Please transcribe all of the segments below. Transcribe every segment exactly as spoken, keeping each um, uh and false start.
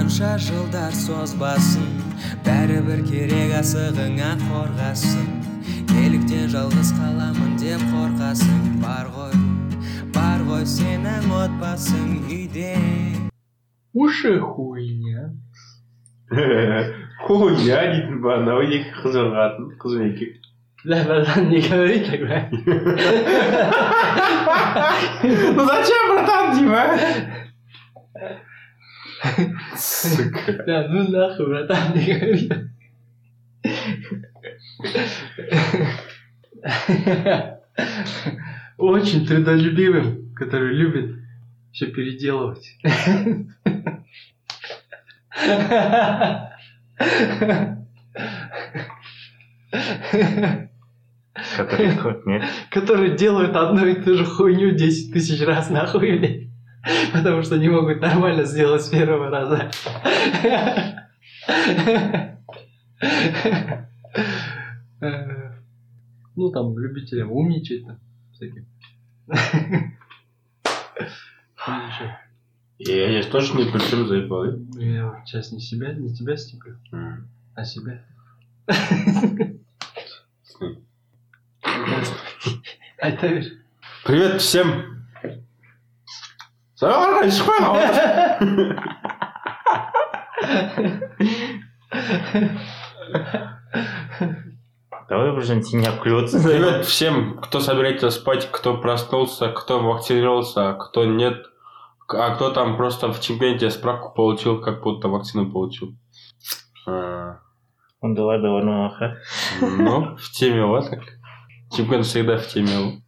қанша жылдар созбасын, бәрібір керек асығыңа қорғасын. Неліктен жалғыз қаламын деп қорқасың? Бар ғой, бар ғой сенің отбасың үйде. Уши хуйня. Хуйня дейтін ба, анау екі қыз ұрғатын, қыз бен еркек. Бля, братан, не говори так, бля. Ну зачем, братан, Дима? Сука. Да, ну нахуй, братан, не говори. Очень трудолюбивым, который любит все переделывать. Который, нет? Которые делают одну и ту же хуйню десять тысяч раз нахуй, блядь. Потому что не могут нормально сделать с первого раза. Ну, там, любителям умничать там, всяким. Я здесь тоже не при чем заебал, да? Я сейчас не себя, не тебя степлю, а себя. Привет всем! Давай уже не клюется. Привет всем, кто собирается спать, кто проснулся, кто вакцинировался, кто нет, а кто там просто в чемпионате справку получил, как будто вакцину получил. Он давай, давай, ну, ага. Ну, в теме вот так. Чемпион всегда в теме.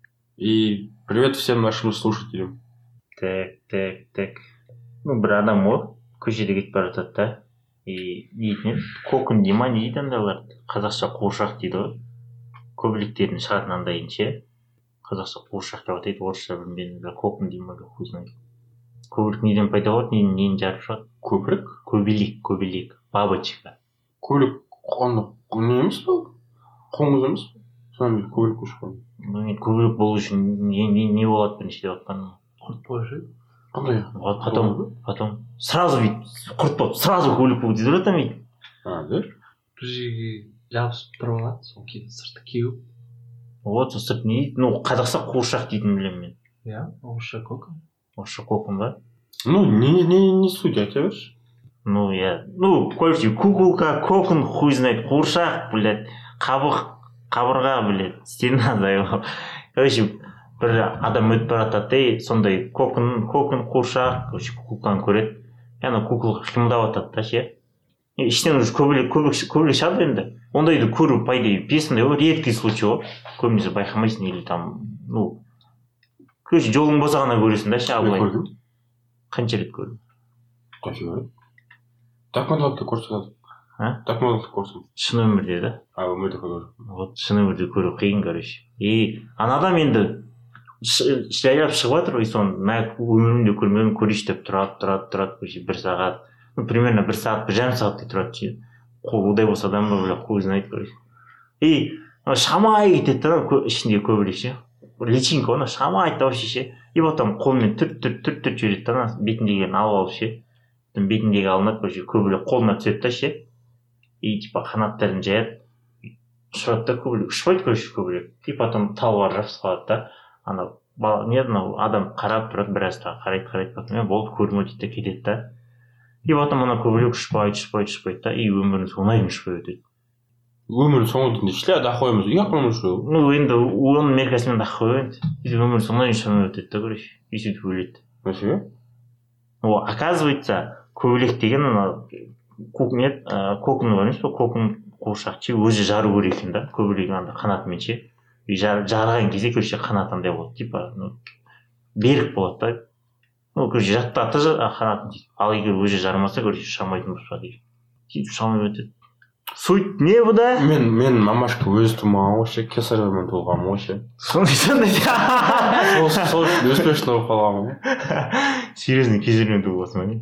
И привет всем нашим слушателям. Так, так, так. Ну, бір адам ғой, көшеде кетіп бара жатады да. И дейтін кокон дей ма, не дейді андайлар? Қазақша қуыршақ дейді ғой. Көбелектердің шығатын андайын ше. Қазақша қуыршақ деп атайды, орысша білмедім. Кокон дей ма, хуй знает. Көбелек неден пайда болады, нені жарып шығады? Көбірек? Көбелек, көбелек, бабочка. Көбелек, оны не емес пе? Қоңыз емес пе? Сонымен көбелек көшіп. Ну, көбелек болу үшін не, не, не болады бірінші деп атқаным? Құрт положи. Қандай? Потом, потом, сразу вид, құрт болып, сразу көбелек болып дейді ғой там вид. А, да? Бір жерге жабысып тұрып алады, соны кейін сырты кеуіп. Вот, сол сырт не дейді? Ну, қазақша қуыршақ дейтін білемін мен. Иә, орысша кокон. Орысша кокон ба? Ну, не, не, не суть, а тебе ж? Ну, я, ну, короче, куколка, кокон, хуй знает, қуыршақ, блядь, қабық, қабырға, блядь, стена, заебал. Короче, бір адам өтіп бара жатады, сондай кокон, кокон, қуыршақ, короче, куколканы көреді. Яғни куколка қимылдап жатады да, ше. Іштен уже көбелек, көбелек, көбелек шығады енді. Ондайды көру, по идее, песінде ғой, редкий случай ғой. Көбінесе байқамайсың или там, ну, короче, жолың болса ғана көресің да, ше, абылай. Көрдің? Қанша рет көрдім? Қанша? Так модалды көрсетеді. А? Так модалды көрсетеді. Шын өмірде да? А, өмірде көрді. Вот шын өмірде көру қиын, короче. И анадан енді жайлап шығып жатыр, и соны мә өмірімде көрмедім, көрейінші деп тұрады, тұрады, тұрады, короче, бір сағат. Ну, примерно бір сағат, бір жарым сағаттай тұрады, ше. Қол удай болса адам ба, бля, хуй знает, короче. И шамай кетеді да, ішінде көбірек, ше. Личинка, оны шамай айтты вообще, ше. И потом қолмен түрт, түрт, түрт, түрт жүреді да, бетіндегілерін алып алып, ше. Бетіндегі алынады, короче, көбірек қолына түседі да, ше. И типа қанаттарын жаяды, ұшырады да, көбірек ұшпайды, короче, көбірек. И потом талға жабысып қалады да. Ана не анау адам қарап тұрады, біраз та қарайды, қарайды, потом я болып көрмей дейді да кетеді да. И потом ана көбірек ұшпайды, ұшпайды, ұшпайды да, и өмірін соңына дейін ұшпай өтеді. Өмірін соңына дейін ішіле ақ қойымыз, ұяқ қойымыз жоқ. Ну енді оның меркасымен ақ қойып енді. И өмірін соңына дейін ұшпай өтеді да, короче, и сөйтіп өледі. Мәселе? О, оказывается, көбелек деген ана кокон бар емес пе, кокон қуыршақ ше, өзі жару керек екен да, көбелек андай қанатымен ше. И жарған кезде, короче, қанат андай болады, типа, ну, берік болады да. Ну, короче, жаттаты қанатын дейді. Ал егер өзі жармаса, короче, шамайтын болса дейді. Сөйтіп шамай өтеді. Суть не бұда? Мен, мен мамашка өзі тумаған ғой ше, кесаревамен туылғанмын ғой ше. Сондай сондай. Сол успешно болып қалғанмын ғой. Серьезно, кесаревамен туылғансың ба не?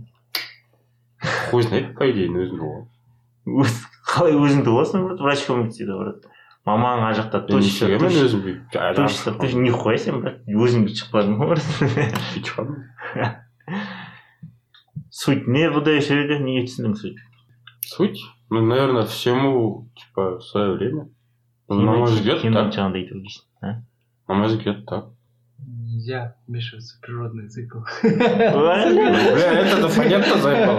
Хуй знает, по идее, өзім туылғанмын. Қалай өзің туыласың, врач көмектеседі, брат. Мамаң ар жақта точно, мен өзім точно, точно, нихуя сен, брат, өзің бүйтіп шықпадың ғой, брат. Бүйтіп шықпадым. Суть не бұдай сөйледі, неге түсіндің суть? Суть? Ну, наверное, всему, типа, в свое время. Ну, на мой взгляд, Кемнің так. жаңағыдай айтып ойлайсың, а? На мой взгляд, так. Нельзя вмешиваться в природный цикл. Бля, это-то понятно заебал.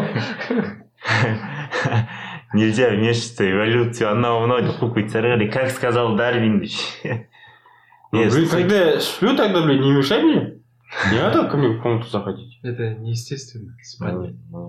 Нельзя вмешиваться в эволюцию, анау мынау деп қойып кетсеңдер қарай, как сказал Дарвин деші. Ну, блин, когда я сплю, тогда, блин, не мешай мне. Не надо ко мне в комнату заходить. Это неестественно. Спать. Ну,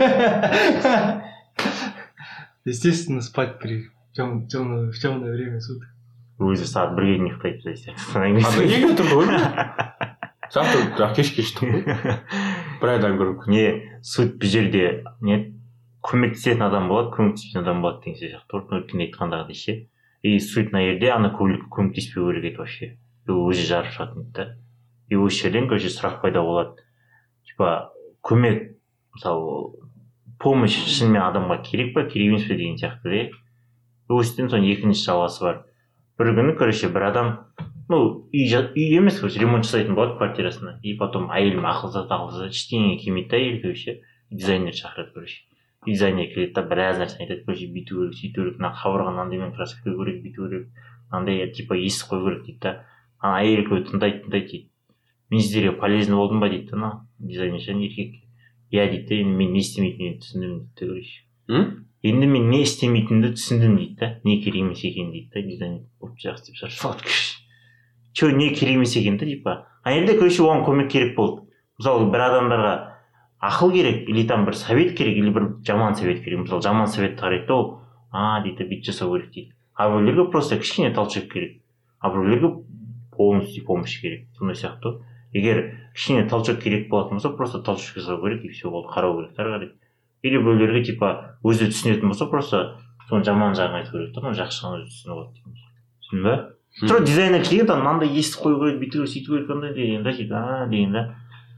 Естественно, спать при тем, темное, в темное время суток. өзі сағат бірге не ұйықтайды десе. А ты неге тұрды ғой? Завтра кеш кешті ғой. Бір айдан көріп. Не, суть бұл жерде не көмектесетін адам болады, көмектеспейтін адам болады деген сияқты ғой. Өткенде айтқандағыдай ше. И суть мына жерде ана көмектеспеу керек еді вообще. Ол өзі жарып шығатын да. И осы жерден короче сұрақ пайда болады. Типа көмек, мысалы, помощь шынымен адамға керек па, керек емес пе деген сияқты да. Осыдан соң екінші жалғасы бар. Бір күні, короче, бір адам, ну, үй, үй емес, короче, ремонт жасайтын болады квартирасына. И потом әйелім ақылзат, ақылзат, ештеңеге келмейді да әйел, короче, дизайнер шақырады, короче. Дизайнер келеді да, біраз нәрсені айтады, короче, бүйту керек, сөйту керек, мына қабырғаны андаймен краска құю керек, бүйту керек, андай, типа, есік қою керек дейді да. Ана әйел көй тыңдайды, тыңдайды дейді. Мен сіздерге полезный болдым ба дейді да, дизайнер шан еркек. Я дейді да, енді мен не істемейтінімді түсіндім дейді, короче. Енді мен не істемейтінімді түсіндім дейді да, не керек емес екен дейді да, дизайнер болып жақсы деп шаршалады, короче. Че, не керек емес екен да, типа. А енді, короче, оған көмек керек болды. Мысалы, бір адамдарға ақыл керек, или там бір совет керек, или бір жаман совет керек. Мысалы, жаман советті қарайды да, ол, а, дейді, бүйтіп жасау керек дейді. А біреулерге просто кішкене талшық керек. А біреулерге полностью помощь керек. Сондай сияқты. Егер кішкене талшық керек болатын болса, просто талшық жасау керек, и все болды, қарау керек, қарайды. Или біреулерге типа өзі түсінетін болса, просто соны жаман жағын айту керек та, жақсы жағын өзі түсініп алады деген. Түсіндің ба? Тура дизайнер келген да, мынандай есік қою керек, бүйту керек, сөйту керек, андай деген да, дейді, а деген да.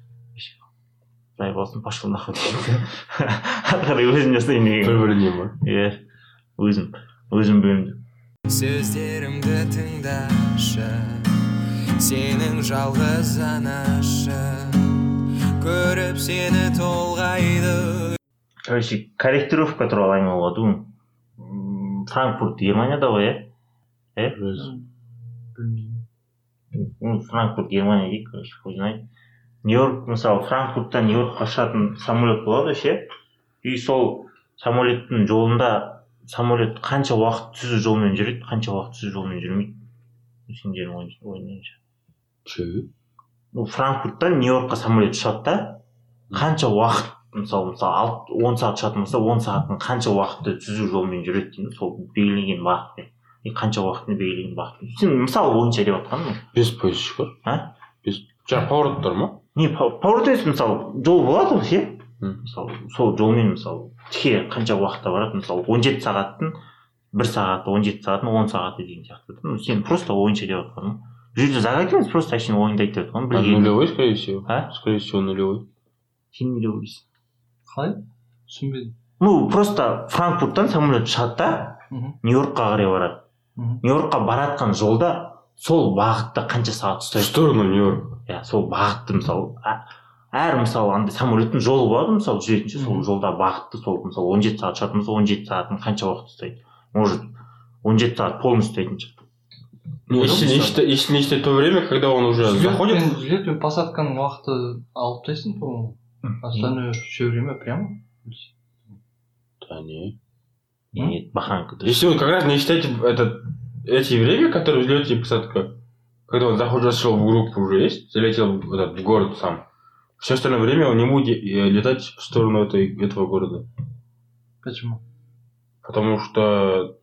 Заебалсын, пошел нахуй деген. Қарай өзім жасайын деген. Бір-біріне ма? Иә, өзім, өзім бөлімді. Сөздерімді тыңдашы, сенің жалғыз анашы, көріп сені толғайды. Короче, корректировка туралы әңгіме болады ғой. Франкфурт Германияда ғой, ә? Ә? Білмеймін. Франкфурт Германия дейді, короче, хуй знает. Нью-Йорк, мысалы, Франкфурттан Нью-Йоркқа ұшатын самолет болады ше. И сол самолеттің жолында самолет қанша уақыт түзу жолмен жүреді, қанша уақыт түзу жолмен жүрмейді. Сендердің ойынша. Че? Ну, Франкфурттан Нью-Йоркқа самолет ұшады да, қанша уақыт, мысалы, мысалы, он сағат ұшатын болса, он сағаттың қанша уақытты түзу жолмен жүреді дейді, сол белгіленген бағытпен. И қанша уақытын белгіленген бағытпен. Сен мысалы бойынша деп жатқаның. Без поезд шығар. А? Без. Жаңа поворот ма? Не, поворот емес, мысалы, жол болады ғой, ше? Мысалы, сол жолмен, мысалы, тіке қанша уақытта барады, мысалы, он жеті сағаттың бір сағаты, он жеті сағаттың он сағаты деген сияқты. Ну, сен просто ойынша деп жатқаның. Бұл жерде загадкамыз, просто әшейін ойында айтып жатқаның. А нулевой, скорее всего. А? Скорее всего, нулевой. Сен не ойлайсың? Қалай? Түсінбедім. Ну, просто Франкфурттан самолет ұшады да, Нью-Йоркқа қарай барады. Нью-Йоркқа баратқан жолда сол бағытта қанша сағат ұстайды? В сторону Нью-Йорк. Иә, сол бағытты, мысалы, әр, мысалы, андай самолеттің жолы болады, мысалы, жүретінші, сол жолда бағытты, сол, мысалы, он жеті сағат ұшатын болса, он жеті сағатын қанша уақыт ұстайды? Может, он жеті сағат полностью ұстайтын шығар. Если не считать то время, когда он уже заходит... Взлет пен посадканың уақыты алып тастайсың, по-моему. Остальное все время прямо. Да не. Нет, баханка. Если вы как раз не считаете это, эти время, которые взлет и посадка, когда он заход зашел в группу уже есть, залетел в, этот, в город сам, все остальное время он не будет летать в сторону этой, этого города. Почему? Потому что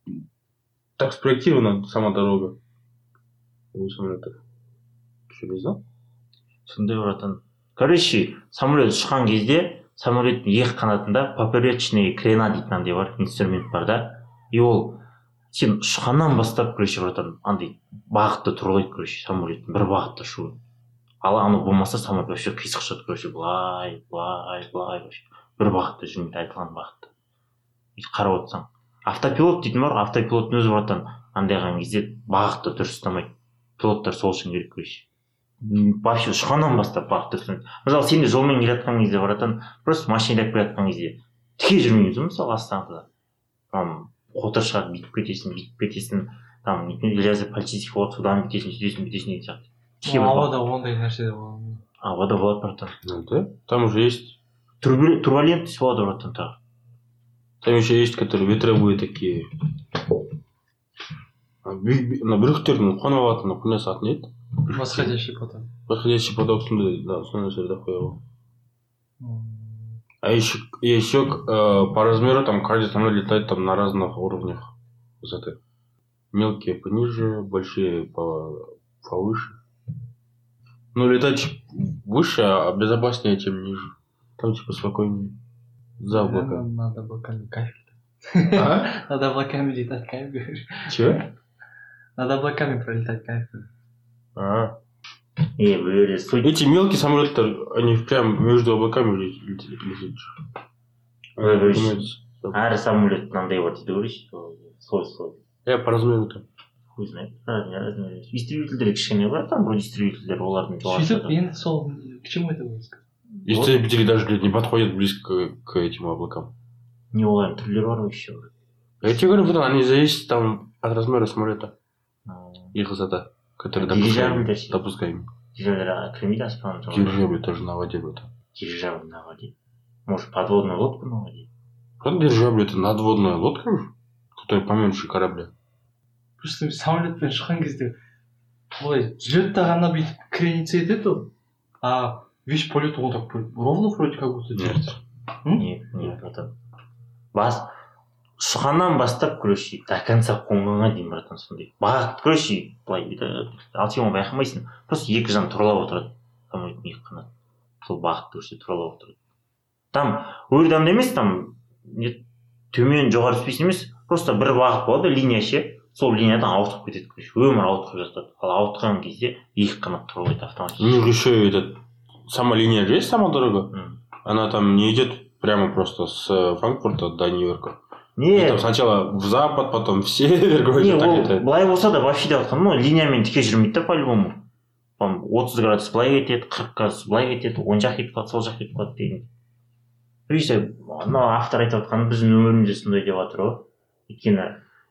так спроектирована сама дорога. У самолетов. Что, не знал? Сондай братан. Короче, самолет ұшқан кезде самолеттің екі қанатында поперечный крена дейтін андай бар, инструмент бар да. И ол сен ұшқаннан бастап, короче, братан, андай бағытты тұрғылайды, короче, самолеттің бір бағытта ұшуы. Ал аны болмаса самолет вообще қисық ұшады, короче, былай, былай, былай, бір бағытта жүрмейді, айтылған бағытта. Қарап отырсаң. Автопилот дейтін бар, автопилоттың өзі братан андайған кезде бағытты дұрыс ұстамайды. Пилоттар сол үшін керек, короче. вообще ұшқаннан бастап бағыт дұрыс. Мысалы сен де жолмен келе жатқан кезде баратын, просто машина айдап келе жатқан кезде тіке жүрмейсің мысалы астаңғыда. Там қотыр шығады, бүйтіп кетесің, бүйтіп кетесің, там лязы полицейский болады, судан бүйтесің, сөйтесің, бүйтесің деген сияқты. Ауада ондай нәрсе де болады. Ауада болады братан. Ну да, там уже есть Турбулентность болады братан тағы. Там еще есть, которые ветровые такие. На брюхтердің қонып алатын құня сатын еді. Восходящий поток. Восходящий поток сондай, да, сондай жерде қояды. А еще, еще э, по размеру там каждый самолет летает там на разных уровнях высоты. Мелкие пониже, большие по, повыше. Ну, летать выше, а безопаснее, чем ниже. Там типа спокойнее. За облаками. Надо облаками кайф. А? Надо облаками летать кайф, говоришь. Чего? Надо облаками пролетать кайф. А. И вы суть. Эти мелкие самолеты, они прям между облаками летят. Әр самолет мынандай бар дейді көрейсіз, слой слой. Я по размеру там. Хуй знает. Разные разные. Истребительдер кішкене бар, там вроде истребительдер, олардың Сөйтіп, енді сол к чему это будет? Истребители даже не подходят близко к этим облакам. Не олардың түрлері бар еще. Я тебе говорю, вот они зависят там от размера самолета. Их высота, которая допускаемая. Дирижабль кірмейді аспанның жоғары. Дирижабль тоже на воде, брат. Дирижабль на воде. Может, подводную лодку на воде? Правда, дирижабль это надводная лодка, которая поменьше корабля. Просто самолетпен шыққан кезде олай жүреді ғана бүйтіп крениться етеді ол. А весь полет он так ровно вроде как будто держится. Нет, нет, братан. Бас шыққаннан бастап, короче, до конца қонғанға дейін, братан, сондай. Бағыт, короче, былай ал сен оны байқамайсың. Просто екі жан тұралап отырады. Самолеттің екі қанаты. Сол бағытты көрсе тұралап отырады. Там өрдамда емес, там төмен жоғары түспесін емес, просто бір бағыт болады, линия ше. Сол линиядан ауытқып кетеді, короче, өмір ауытқып жатады. Ал ауытқан кезде екі қанат тұралайды автоматически. У них еще этот сама линия же есть, сама дорога. Она там не идет прямо просто с Франкфурта до Нью-Йорка. Не, там сначала в запад, потом в север, короче, так летает. Былай болса да вообще деп жатқан, ну, линиямен тіке жүрмейді да по-любому. отыз градус былай кетеді, қырық градус былай кетеді, оң жақ кетіп қалады, сол жақ кетіп қалады деген. Өйсе, мына автор айтып жатқаны біздің өмірімізде сондай деп жатыр ғой. Өйткені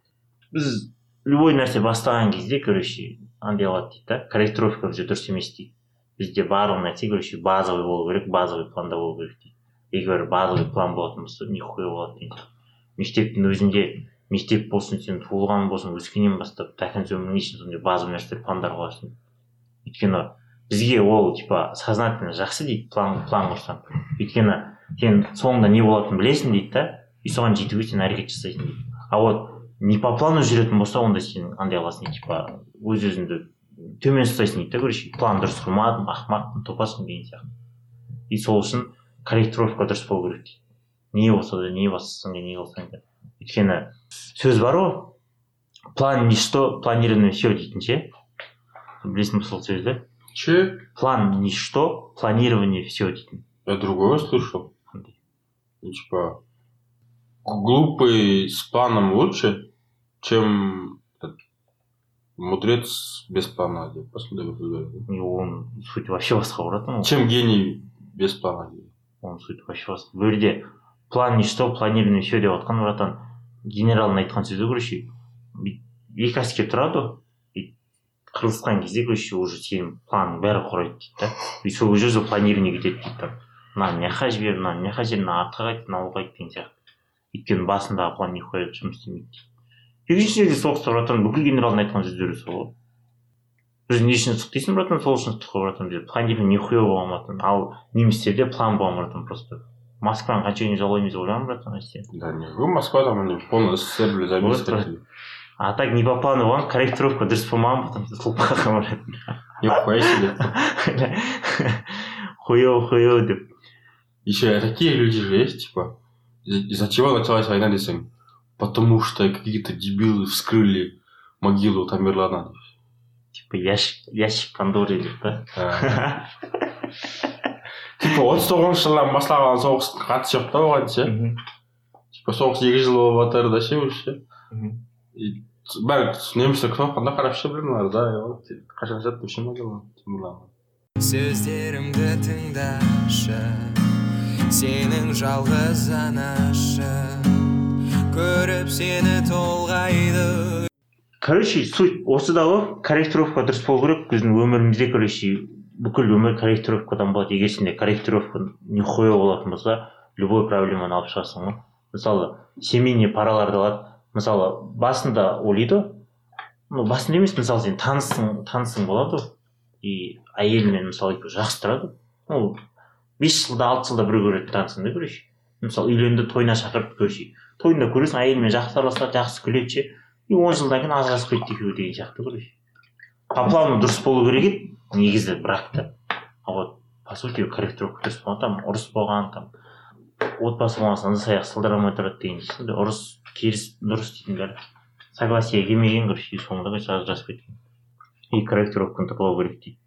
біз любой нәрсе бастаған кезде, короче, андай болады дейді да, корректировка бізде дұрыс емес дейді. Бізде барлық нәрсе, короче, базовый болу керек, базовый планда болу керек дейді. Егер базовый план болатын болса, нихуя болады дейді. Мектептің өзінде, мектеп болсын, сен туылған болсын, өскеннен бастап, тәкінсі өмірің үшін сондай базовый нәрсе пландар қоясың. Өйткені бізге ол, типа, сознательно жақсы дейді, план, план құрсаң. Өйткені сен соңында не болатынын білесің дейді да, и соған жетуге сен әрекет жасайсың дейді. А вот не по плану жүретін болса, онда сен андай аласың, типа, өз-өзіңді төмен ұстайсың дейді да, короче, план дұрыс құрмадым, ақымақпын, топасың деген сияқты. И сол үшін корректировка дұрыс болу керек дейді. Не болса да, не бассаң да, не қылсаң да. Өйткені сөз бар ғой, план ничто, планирование все дейтін ше. Білесің сол сөзді? Че? План ничто, планирование все дейтін. Я другое слышал. Типа, глупый с планом лучше, чем мудрец без плана. Он суть вообще басқа братан. Чем гений без плана. Он суть вообще басқа. Бұл жерде план ничто, планирование все деп жатқан братан. Генералның айтқан сөзі короче, екі әскер тұрады, қырылысқан кезде короче уже сенің планың бәрі құрайды дейді да. И сол уже планирование кетеді дейді. Мынаны мына жаққа жібер, мынаны мына жаққа жібер, мына артқа қайт, мынау қайт деген сияқты. Өйткені басындағы план нихуя жұмыс істемейді дейді. Екінші жерде соғыста братан, бүкіл генералдың айтқан сөздері сол ғой. Біз не үшін ыстық дейсің братан, сол үшін ыстық қой братан, планирование нихуя болған братан. Ал немістерде план болған братан просто. Москваны қанша күн жаулаймыз ойлаған братан әсте. Да не, вы Москва там они полный СССР забили. А так не по плану болған, корректировка дұрыс болмаған братан, сол қалған братан. Нихуя себе. Хуёво, хуёво деп. Еще такие люди же есть, типа, из-за чего началась война, десем? Потому что какие-то дебилы вскрыли могилу Тамерлана. Типа ящик, ящик Пандоры деп та. Типа отыз тоғызыншы жылдан басталған соғыстың қатысы жоқ та оған ше. Типа соғыс екі жыл болып жатыр да ше уже. Бәрі немістер күтіп отқанда қарап ше білмеймін да, қашан жатты ше могила Тамерлана. сөздерімді тыңдашы, сенің жалғыз анашы, көріп сені толғайды. Короче, суть осыда ғой, корректировка дұрыс болу керек. Біздің өмірімізде, короче, бүкіл өмір корректировкадан болады. Егер сенде корректировка нихуя болатын болса, любой проблеманы алып шығасың ғой. Мысалы, семейный параларды алады. Мысалы, басында ойлайды, ну, басында емес, мысалы, сен танысың, танысың болады, и әйелмен, мысалы, жақсы тұрады. Ну, бес жылда, алты жылда бір көреді танысың да, короче. Мысалы, үйленді, тойына шақырып, короче. Тойында көресің, әйелмен жақсы араласады, жақсы күледі ше. И он жылдан кейін ажырасып кетті екеуі деген сияқты, короче. По плану дұрыс болу керек еді, негізі бракта. А вот, по сути, корректировка дұрыс болған, там, ұрыс болған, там, отбасы болмаса ыдыс аяқ сылдырамай тұрады деген сияқты. Ұрыс керіс дұрыс дейтін бәрі. Согласие келмеген, короче, соңында ажырасып кеткен. И корректировканы тырлау керек дейді.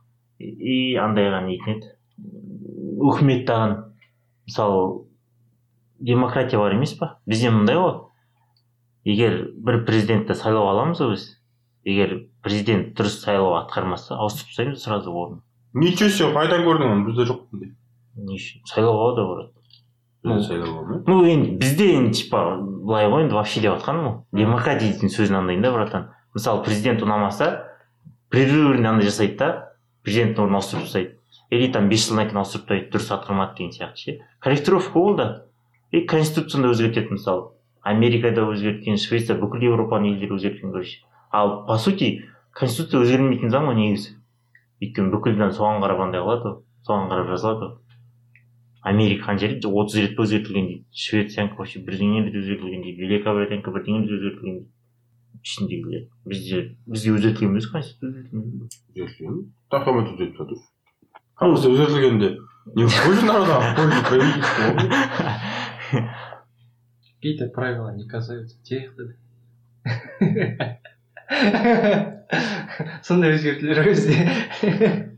И андайға нетін еді. Үкіметтаған, мысалы, демократия бар емес па? Бізде мындай ғой. Егер бір президентті сайлау аламыз біз, егер президент дұрыс сайлау атқармаса, ауыстырып тастаймыз сразу орнын. Ничего себе, қайдан көрдің оны? Бізде жоқ қандай. Не үшін? Сайлауға да барады. Бізде сайлауға ма? Ну, енді бізде енді типа былай ғой, енді вообще деп жатқаным ғой. Демократия дейтін сөзін андайын да, братан. Мысалы, президент ұнамаса, прерывный андай жасайды да, президенттің орнын ауыстырып тастайды. Или там бес жылдан кейін ауыстырып тастайды, дұрыс атқармады деген сияқты ше. Корректировка болды. И конституцияны өзгертеді, мысалы. Америкада өзгерткен, Швеция, бүкіл Европаның елдері өзгерткен, короче. Ал по сути, конституция өзгермейтін заң ғой негізі. Өйткені бүкілден соған қарап андай қылады, соған қарап жазылады. Америка қанша рет отыз рет өзгертілген дейді. Швециянікі вообще бірдеңе рет өзгертілген дейді. Великобританиянікі бірдеңе рет өзгертілген дейді. Ішіндегілер. Бізде бізге өзгертілген емес конституция. Өзгертілген. Тахамет өзгертіп жатыр. А бізде өзгертілгенде не польза народа, а польза правительства. Какие-то правила не касаются тех, сондай өзгертілер өзде.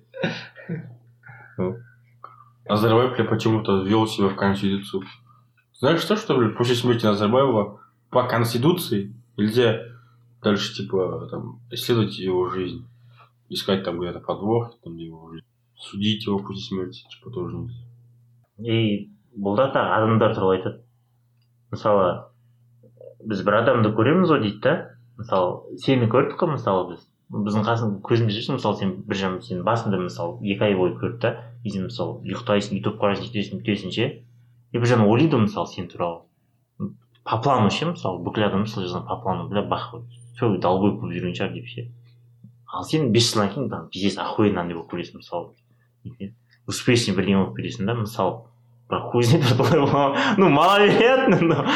Назарбаев почему-то ввел себя в Конституцию. Знаешь что, что блядь, после смерти Назарбаева по Конституции нельзя дальше, типа, там, исследовать его жизнь, искать там где-то подвох, там, где его жизнь, судить его после смерти, типа, тоже нельзя. И бұл да тағы адамдар туралы айтады. Мысалы, біз бір адамды көреміз ғой дейді да. Мысалы, сені көрдік қой, мысалы біз. Біздің қасың көзіміз жүрсің, мысалы сен бір жам, сен басында мысалы екі ай бойы көрді да. И сен мысалы ұйықтайсың, ютуб қарайсың, жетесің, бүтесің ше. И бір жан ойлайды мысалы сен туралы. По плану ше, мысалы бүкіл адам мысалы жазған по плану, бля, бах, все, долбой болып жүрген шығар деп ше. Ал сен бес жылдан кейін там пиздец охуенно андай болып көресің, мысалы. Успешный бірдеңе болып бересің да, мысалы. Бірақ хуй знает, что ну, маловероятно, но...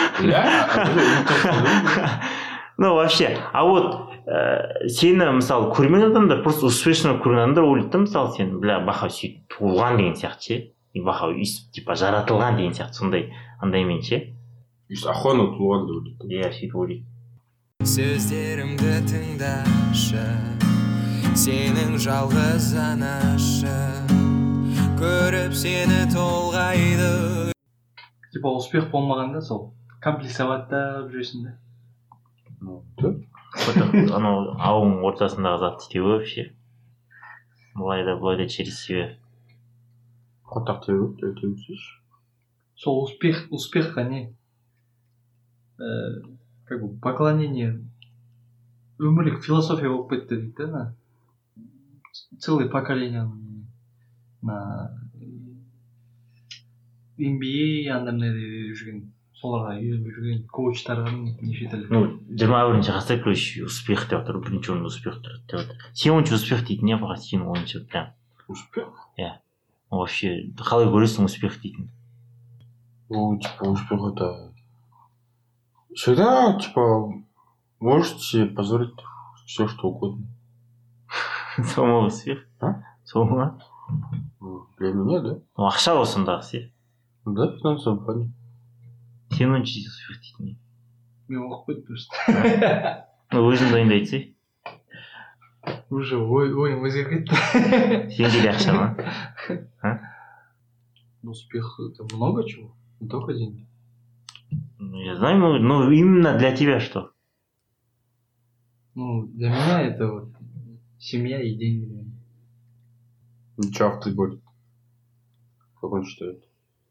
Ну, вообще, а вот сені, мысалы, көрген адамдар, просто успешно көрген адамдар ойлайды да, мысалы, сен, бля, баха сөйтіп туылған деген сияқты ше. И баха өйстіп, типа, жаратылған деген сияқты, сондай, андаймен ше. Өйстіп, охуенно туылған деп ойлайды. Иә, сөйтіп ойлайды. Сөздерімді тыңдашы, сенің жалғыз анашы, көріп сені толғайды. Типа успех болмағанда сол комплексоваттап жүресің да. Ну, да. Анау ауың ортасындағы затты істеу вообще. Былай да былай да через себя. Хотақ теу, теу теусиш. Сол успех, успехқа не? Как бы поклонение өмірлік философия болып кетті дейді да. Целое поколение на эм би эй андай жүрген, соларға үйреніп жүрген коучтардың неше түрлі. Ну, жиырма бірінші ғасыр короче успех деп жатыр, бірінші орында успех тұрады деп жатыр. Сен ойынша успех дейтін не баға, сенің ойынша прям. Успех? Иә. Вообще, қалай көресің успех дейтін? Ну, типа, успех это... Всегда, типа, можете позволить все, что угодно. Сол успех? А? Сол ма? Для меня, да. Ну, ақша осындағы ше. Да, финансовый плане. Сен ойынша успех дейтін. Мен оқып қойдым просто. Ну, өзің дайындайды ше. Уже ойым өзгеріп кетті. Сенде де ақша ма? Успех это много чего, не только деньги. Ну, я знаю, но, но именно для тебя что? Ну, для меня это вот семья и деньги. Ничего автор будет. Как он считает?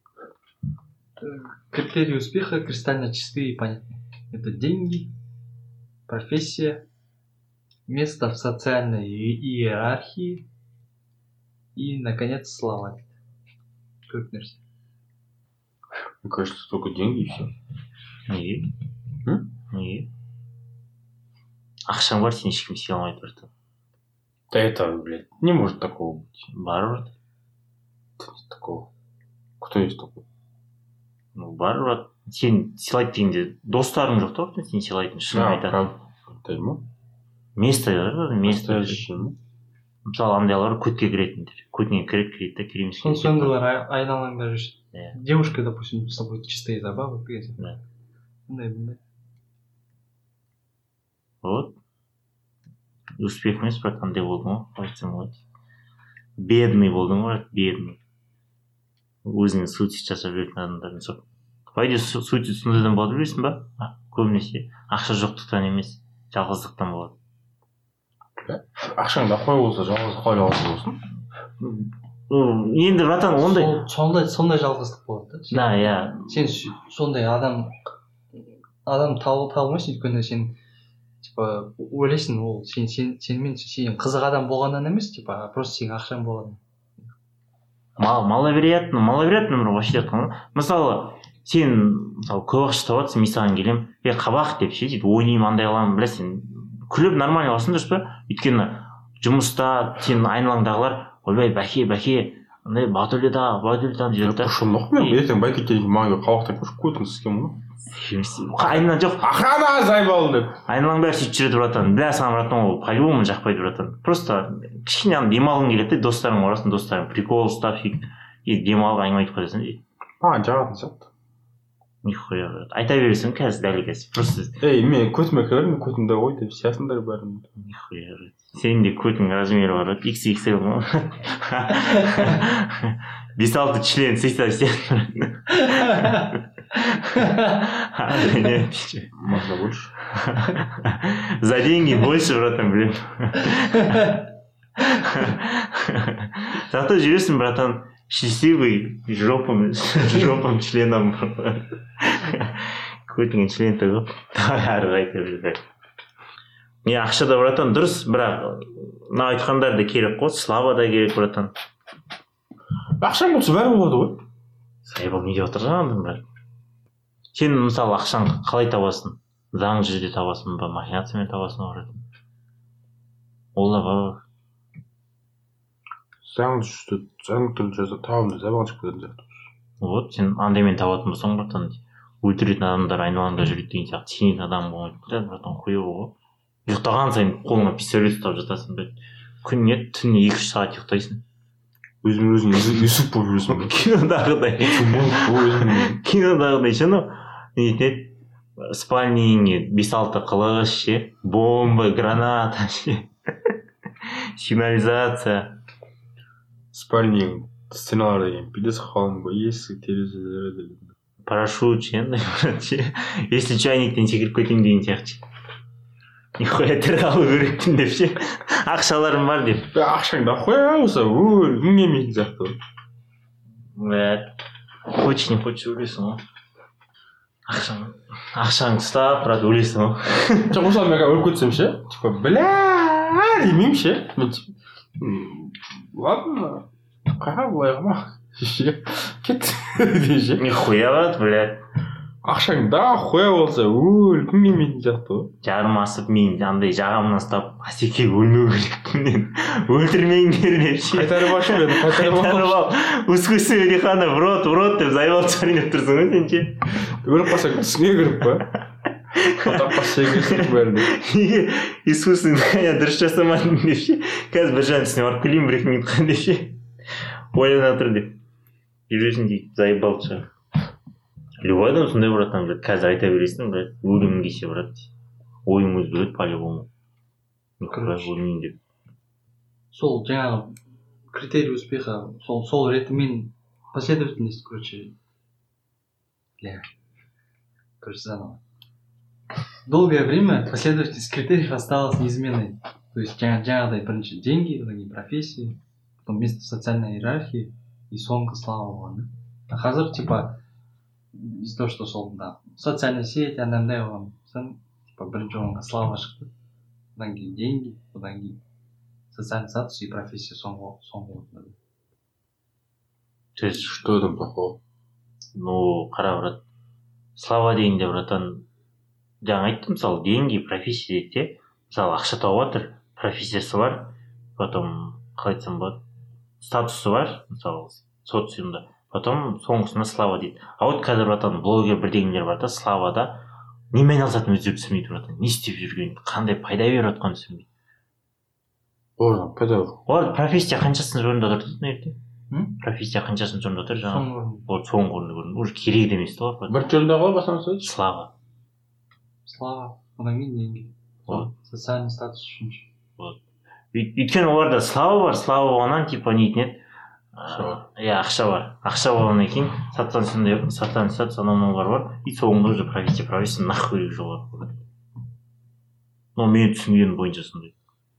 Критерии успеха кристально чистые и понятные. Это деньги, профессия, место в социальной иерархии и, наконец, слава. Төрт нәрсе. Мне кажется, только деньги и все. Неге? М? Неге? Ақшаң бар, сен ешкім сүйе алмайды братан. Да это, блядь, не может такого быть. Бар брат. Нет такого. Кто есть такой? Ну, бар брат. Сен сыйлайды дегенде достарың жоқ та, сен сыйлайтын шын айтады. Да, ма? Место бар, место. Настоящий, ма? Мысалы андайлар көтке кіретіндер. Көтіне кіреді, кіреді да, кіреміз. Сондайлар айналаңда жүрсін. Иә. Девушка, допустим, с собой чистые забавы. Да. Мындай, мындай. Вот. Успех емес, бірақ андай болдың ғой, қалай айтсам болады. Бедный болдың ғой, бедный. Өзіңе суицид жасап жүретін адамдардың сол. По идее, суицид сондайдан болады білесің ба? Көбінесе ақша жоқтықтан емес, жалғыздықтан болады. Ақшаң да қой болса, жалғыз қалай жалғыз болсын? Енді братан ондай сондай сондай жалғыздық болады да. Да, иә. Сен сондай адам адам табу табылмайсың, өйткені сен типа ойлайсың, ол сен сен сенімен сен қызық адам болғаннан емес, типа просто сенің ақшаң болған. Маловероятно, маловероятно бір вообще айтқан. Мысалы, сен мысалы көп ақша табасың, мен саған келемін, е қабақ деп ше, сөйтіп ойнаймын, андай аламын, білесің, күліп нормально аласың дұрыс па? Өйткені жұмыста сен айналаңдағылар ойбай бәке бәке андай батөле да батөле да дейді да. Құшылмақ мен ертең байкеттерге маңға қабақтан көшіп қойдыңыз сізге мұны. Айналаң жоқ. Охрана зайбал деп. Айналаң бәрі сөйтіп жүреді братан. Бля саған братан ол по-любому жақпайды братан. Просто кішкене демалғың келеді, достарың барасың, достарың прикол ұстап сөйтіп и демалып әңгіме айтып қоясың дейді. А, жағатын сияқты. Нихуя брат. Айта бересің қазір дәл қазір. Просто ей, мен көтіме кірдім, көтімде ғой деп сиясыңдар бәрін. Нихуя брат. Сенің де көтің размері бар брат. икс икс эл ма? бес алты член сыйса сияқты. Можно больше. За деньги больше, братан, блин. Зато жүресің, братан, счастливый жопом, жопом членом. Көтіңен член тығып, әрі қайта жүрді. Не, ақша да, братан, дұрыс, бірақ мына айтқандар да керек қой, слава да керек, братан. Ақшаң болса бәрі болады ғой. Сайбал не деп отырған, брат? Сен мысалы ақшаң қалай табасың? Заң жүзде табасың ба, махинациямен табасың ба, брат? Ол да бар. Заң жүзде, заң түрін жаза табымды забан шығып кететін сияқты. Вот, сен андаймен табатын болсаң, братан, өлтіретін адамдар айналаңда жүреді деген сияқты сенетін адам болмайды, братан, қойып ғой. Ұйықтаған сайын қолыңа пистолет ұстап жатасың, брат. Күніне түніне екі үш сағат ұйықтайсың. Өзің өзің Юсуп болып жүресің. Кинодағыдай. Кинодағыдай ше, ну, нетеді, спальнеңе бес алты қылыш ше, бомба, граната ше, сигнализация. Спальнең стеналар деген пидес қалың ба, есік, терезелері деген. Парашют ше, если чайниктен секіріп кетейін деген сияқты. Нихуя тірі қалу керекпін деп ше, ақшаларым бар деп. Ақшаң да қоя болса, өл, күн келмейтін сияқты. Бәт, хочешь не хочешь өлесің ғой. Ақшаң, ақшаң ұстап, брат, өлесің ғой. Жоқ, мысалы мен өліп кетсем ше, типа, бля, демеймін ше. Мен типа, ладно, қаға былай қама. Ше, кет, дей ше. Нихуя брат, блядь. Ақшаң да қоя болса, өл, күн келмейтін сияқты ғой. Жарым асып, мен андай жағамнан ұстап, Асеке өлмеу керекпін, өлтірмеңдер деп ше. Қайтарып ашы мен, қайтарып ал. Ускусы өриханы, в рот, в рот деп зайбал чарин деп тұрсың ғой сен ше. Өліп қалсаң түсіңе кіріп па. Қатап қасы кесіп бәрді. Неге искусственный дыхание дұрыс жасамадың деп ше. Қазір бір жан түсіне барып күлейін бір екі минутқа деп ше. Ойлана тұр деп. Жүресің дейді, зайбал шығар. Любой адам сондай братан, блядь, қазір айта бересің, блядь, өлімін кесе, брат. Ойың өзгереді по-любому. Өлмейін деп. Сол жаңағы критерий успеха, сол сол ретімен последовательность, короче, бля, короче, заново. Долгое время последовательность критериев осталась неизменной. То есть жаңағыдай бірінші деньги, одан кейін профессия, потом вместо социальной иерархии и соңғы слава болған да. А қазір типа из-за того, что сол да социальная сеть анандай болған соң типа бірінші орынға слава шықты, одан кейін деньги, одан кейін социальный статус и профессия соңғы соңғы орында. То есть что там плохого? Ну қара брат, слава дегенде братан жаңа айттым, мысалы деньги, профессия дейді де, мысалы ақша тауып жатыр, профессиясы бар, потом қалай айтсам болады, статусы бар, мысалы социумда, потом соңғысына слава дейді. А вот қазір братан блогер бірдеңелер бар да, славада немен айналысатынын өзі түсінбейді братан, не істеп жүргенін, қандай пайда беріп жатқанын түсінбейді. Олар пайда бар. Олар профессия қаншасының орында тұр дейді, профессия қаншасының орында тұр жаңағы. Вот соңғы орында көрдім, уже керек емес та олар. Бірінші орында ғой басынан сөз. Слава. Слава, одан кейін деньги. Вот. Социальный статус үшінші. Вот. Өйткені оларда слава бар, слава болғаннан типа нетін еді. Иә, ақша бар. Ақша болғаннан кейін социальный статус анау бар бар. И соңында уже профессия, профессия нахуй керек жолға қойды. Но мен түсінгенім бойынша сондай.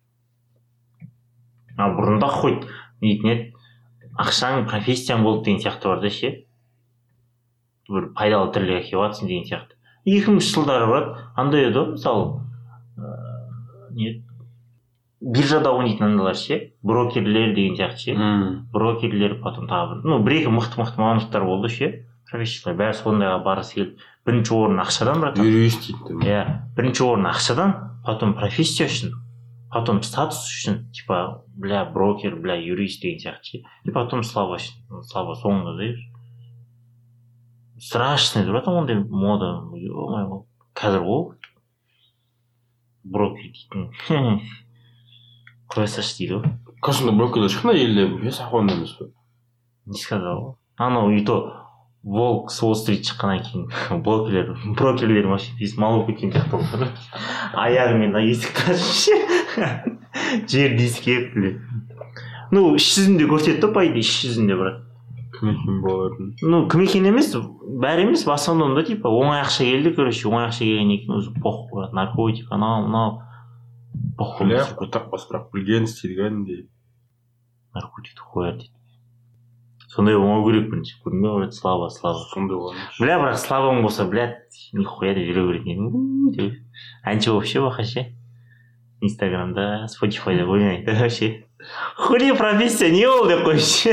А бұрында қойды нетін еді. Ақшаң профессияң болды деген сияқты бар да ше. Бір пайдалы тірліге келіватсың деген сияқты. екі мыңыншы жылдары брат, андай еді ғой, мысалы не биржада ойнайтын андайлар ше, брокерлер деген сияқты ше. Брокерлер, потом тағы бір, ну бір екі мықты-мықты мамандықтар болды ше. Профессиялар бәрі сондайға барғысы келді. Бірінші орын ақшадан брат. Юрист дейді. Иә, бірінші орын ақшадан, потом профессия үшін, потом статус үшін, типа, бля, брокер, бля, юрист деген сияқты ше. И потом слава үшін, слава соңында да. Страшный, братан, ондай мода, ё-моё, қазір ол брокер дейтін қоя салшы дейді ғой. Қашында брокерлер ешқандай елде бес ақуанда емес пе? Не сказал ғой. Анау и то волк с Уолл-стрит шыққаннан кейін брокерлер брокерлер машинасы мал болып кеткен сияқты болды. Аяғымен есікті ашып ше жерді иіскеп бля. Ну іс жүзінде көрсетті ғой, по идее іс жүзінде брат. Кім екен боларын? Ну кім екен емес, бәрі емес, в основном да типа оңай ақша келді, короче, оңай ақша келгеннен кейін өзі похуй брат, наркотик, анау мынау похуй. Бля, тақпас бірақ білген істейді кәдімгідей. Наркотикті қояр дейді. Сондай болмау керек бірінші, көрдің бе, слава, слава. Сондай болған. Бля, бірақ славаң болса, блядь, нихуя деп жүре беретін. Әнші болып ше бақа ше. Инстаграмда, Spotify'да ойнайды вообще. Хули профессия не ол деп қойшы.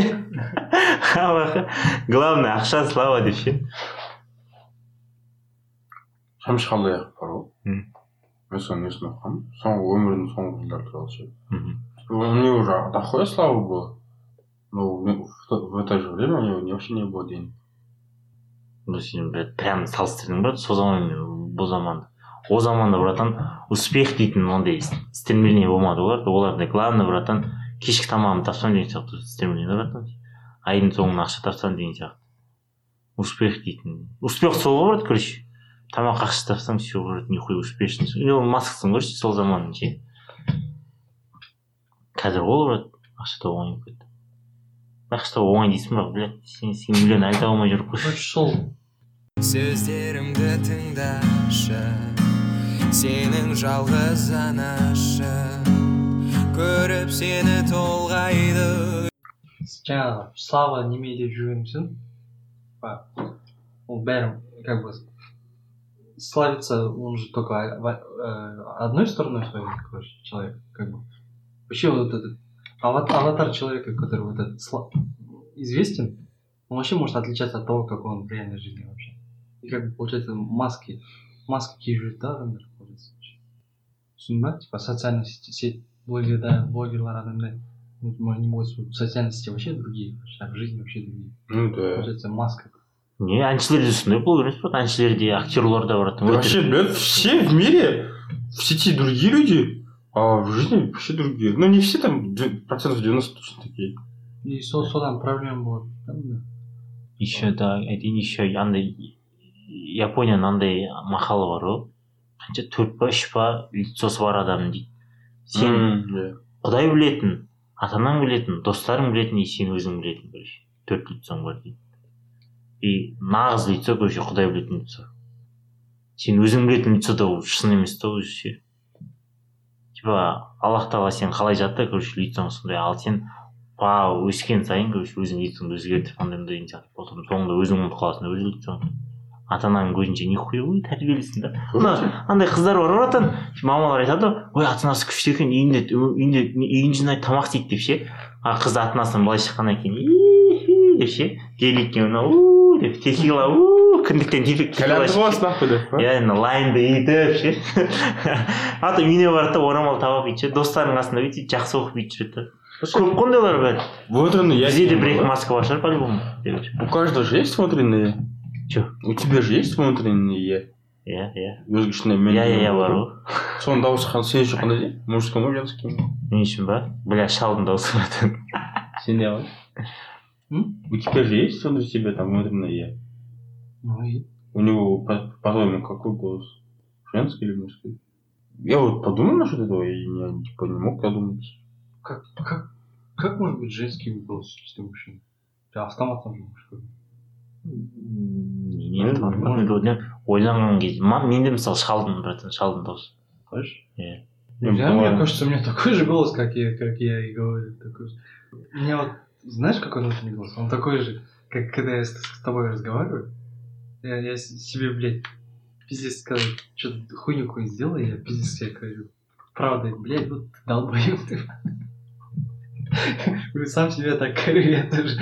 Главное, ақша, слава деп ше. Шамшы қалдай ақ бар ғой. Мен соны несін оқығам. Соңғы өмірінің соңғы жылдары туралы ше. У него уже дохуя слава было. Но в это же время у него вообще не было денег. Ну, сен, блядь, прям салыстырдың брат, сол заман мен бұл заманды. О заманда, братан, успех дейтін ондай стремление болмады олар. Оларда главный, братан, кешкі тамағын тапсам деген сияқты стремление, братан. Айдың соңына ақша тапсам деген сияқты. Успех дейтін. Успех сол ғой, брат, короче. Тамақ ақша тапсаң, все, брат, нихуй успешный. Илон Масксың, короче, сол заманның ше. Қазір ол, брат, ақша тауып оңай кетті. Ақша тауып оңай дейсің, бірақ, блядь, сен миллион айта алмай жүріп қойшы. Сол сөздерімді тыңдашы, сенің жалғыз анашы, көріп сені толғайды. жаңағы слава неме деп жүргенсің, ол бәрі как бы славится, он же только одной стороной своей, короче, человек, как бы. Вообще вот этот аватар человека, который вот этот известен, он вообще может отличаться от того, как он в реальной жизни вообще. И как бы получается маски, маски киюші да адамдар получается. Түсіндің ба? Типа социальная сеть, блогерлар, блогерлар адамдар, не могут в социальной сети вообще другие, а в жизни вообще другие. Ну да. Получается маска. Не, әншілерде сондай блогер емес, әншілерде, актерларда бар. Вообще, блядь, все в мире, в сети другие люди, а в жизни вообще другие. Ну не все там, процентов девяносто точно такие. И содан проблема болады. Еще да, айтайын, еще андай Японияның андай мақалы бар ғой. Қанша төрт па үш па лицосы бар адам дейді. Сен Құдай білетін, ата-анаң білетін, достарың білетін, и сен өзің білетін, короче. Төрт лицоң бар дейді. И нағыз лицо, короче, Құдай білетін лицо. Сен өзің білетін лицо да шын емес та өзі ше. Типа Аллах тағала сен қалай жатты, короче, лицоң сондай, ал сен па өскен сайын короче өзің лицоңды өзгертіп андай мындай деген сияқты болды. Соңында өзің ұмытып қаласың өз лицоңды. Ата ананың көзінше нихуя ой тәрбиелісің да. Мына андай қыздар бар ғой ата мамалар айтады ой ата анасы күшті екен үйінде үйінде үйін жинайды тамақ істейді деп ше. А қыз ата анасынан былай шыққаннан кейін деп ше геликке мынау деп текила кіндіктен тепек кәләмді боласың ақ деп па. Иә лайнды етіп ше. Ата үйіне барады да орамал тауып бүйтіп ше достарының қасында бүйтіп жақсы оқып бүйтіп жүреді. Көп қондайлар бар. Внутренний я. Бізде де бір екі маска бар шығар по-любому. У каждого же есть внутренний. Че? У тебя же есть внутренний я. Иә, иә. Өзгешіне мен. Иә, иә, бар ғой. Соның дауысы сен үшін қандай дейді? Мужской ма, женский ма? Мен үшін ба? Бля, шалдың дауысы бар. Сен не ғой? У тебя же есть внутри себя там внутренний я? Ну и? У него, по-твоему, какой голос? Женский или мужской? Я вот подумал насчет этого, и я типа не мог подумать. Как, как, как может быть женский голос, если мужчина? Автоматом же мужской. Мен ойланған кезде менде мысалы шалдың брат шалдың дауысы. Слышишь? Иә. Мне кажется, у меня такой же голос, как я, как я и говорю. Такой же. У меня вот, знаешь, какой внутренний голос? Он такой же, как когда я с, с тобой разговариваю. Я, я себе, блядь, пиздец сказал, что-то хуйню какую-нибудь сделал, и я пиздец себе говорю. Правда, блядь, вот ты долбоёб ты. Сам себе так говорю, я тоже.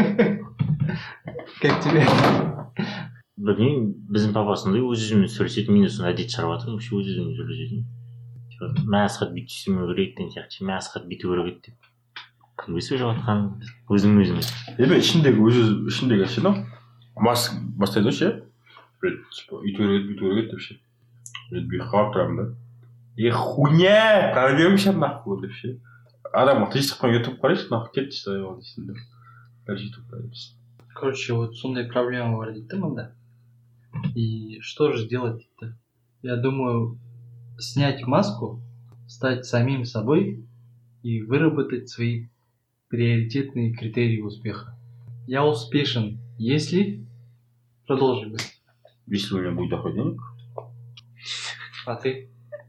Как тебе? Білмеймін, біздің папасындай өз өзімен сөйлесетін, мен осыны әдет шығарып жатырмын, вообще өз өзімен сөйлесетін. Мә асхат бүйтіп істемеу керек деген сияқты, мә асхат бүйту керек еді деп. Кімге сөйлеп жатқанын өзің өзіңе. Енді ішіндегі өз өз ішіндегі ше, мас бастайды ше. Үйту керек, бүйту керек деп ше. Бүйтіп қалап тұрамын да. Е хуйня, прорвемся нахуй деп ше. Адам тыныштықпен ютуб қарайсың, нахуй кетті что ол дейсің да. Дальше ютуб қарайсың. Короче, вот сондай проблема бар дейді мында. И что же делать-то? Я думаю, снять маску, стать самим собой и выработать свои приоритетные критерии успеха. Я успешен, если... Продолжим. Если у меня будет доход денег. А ты?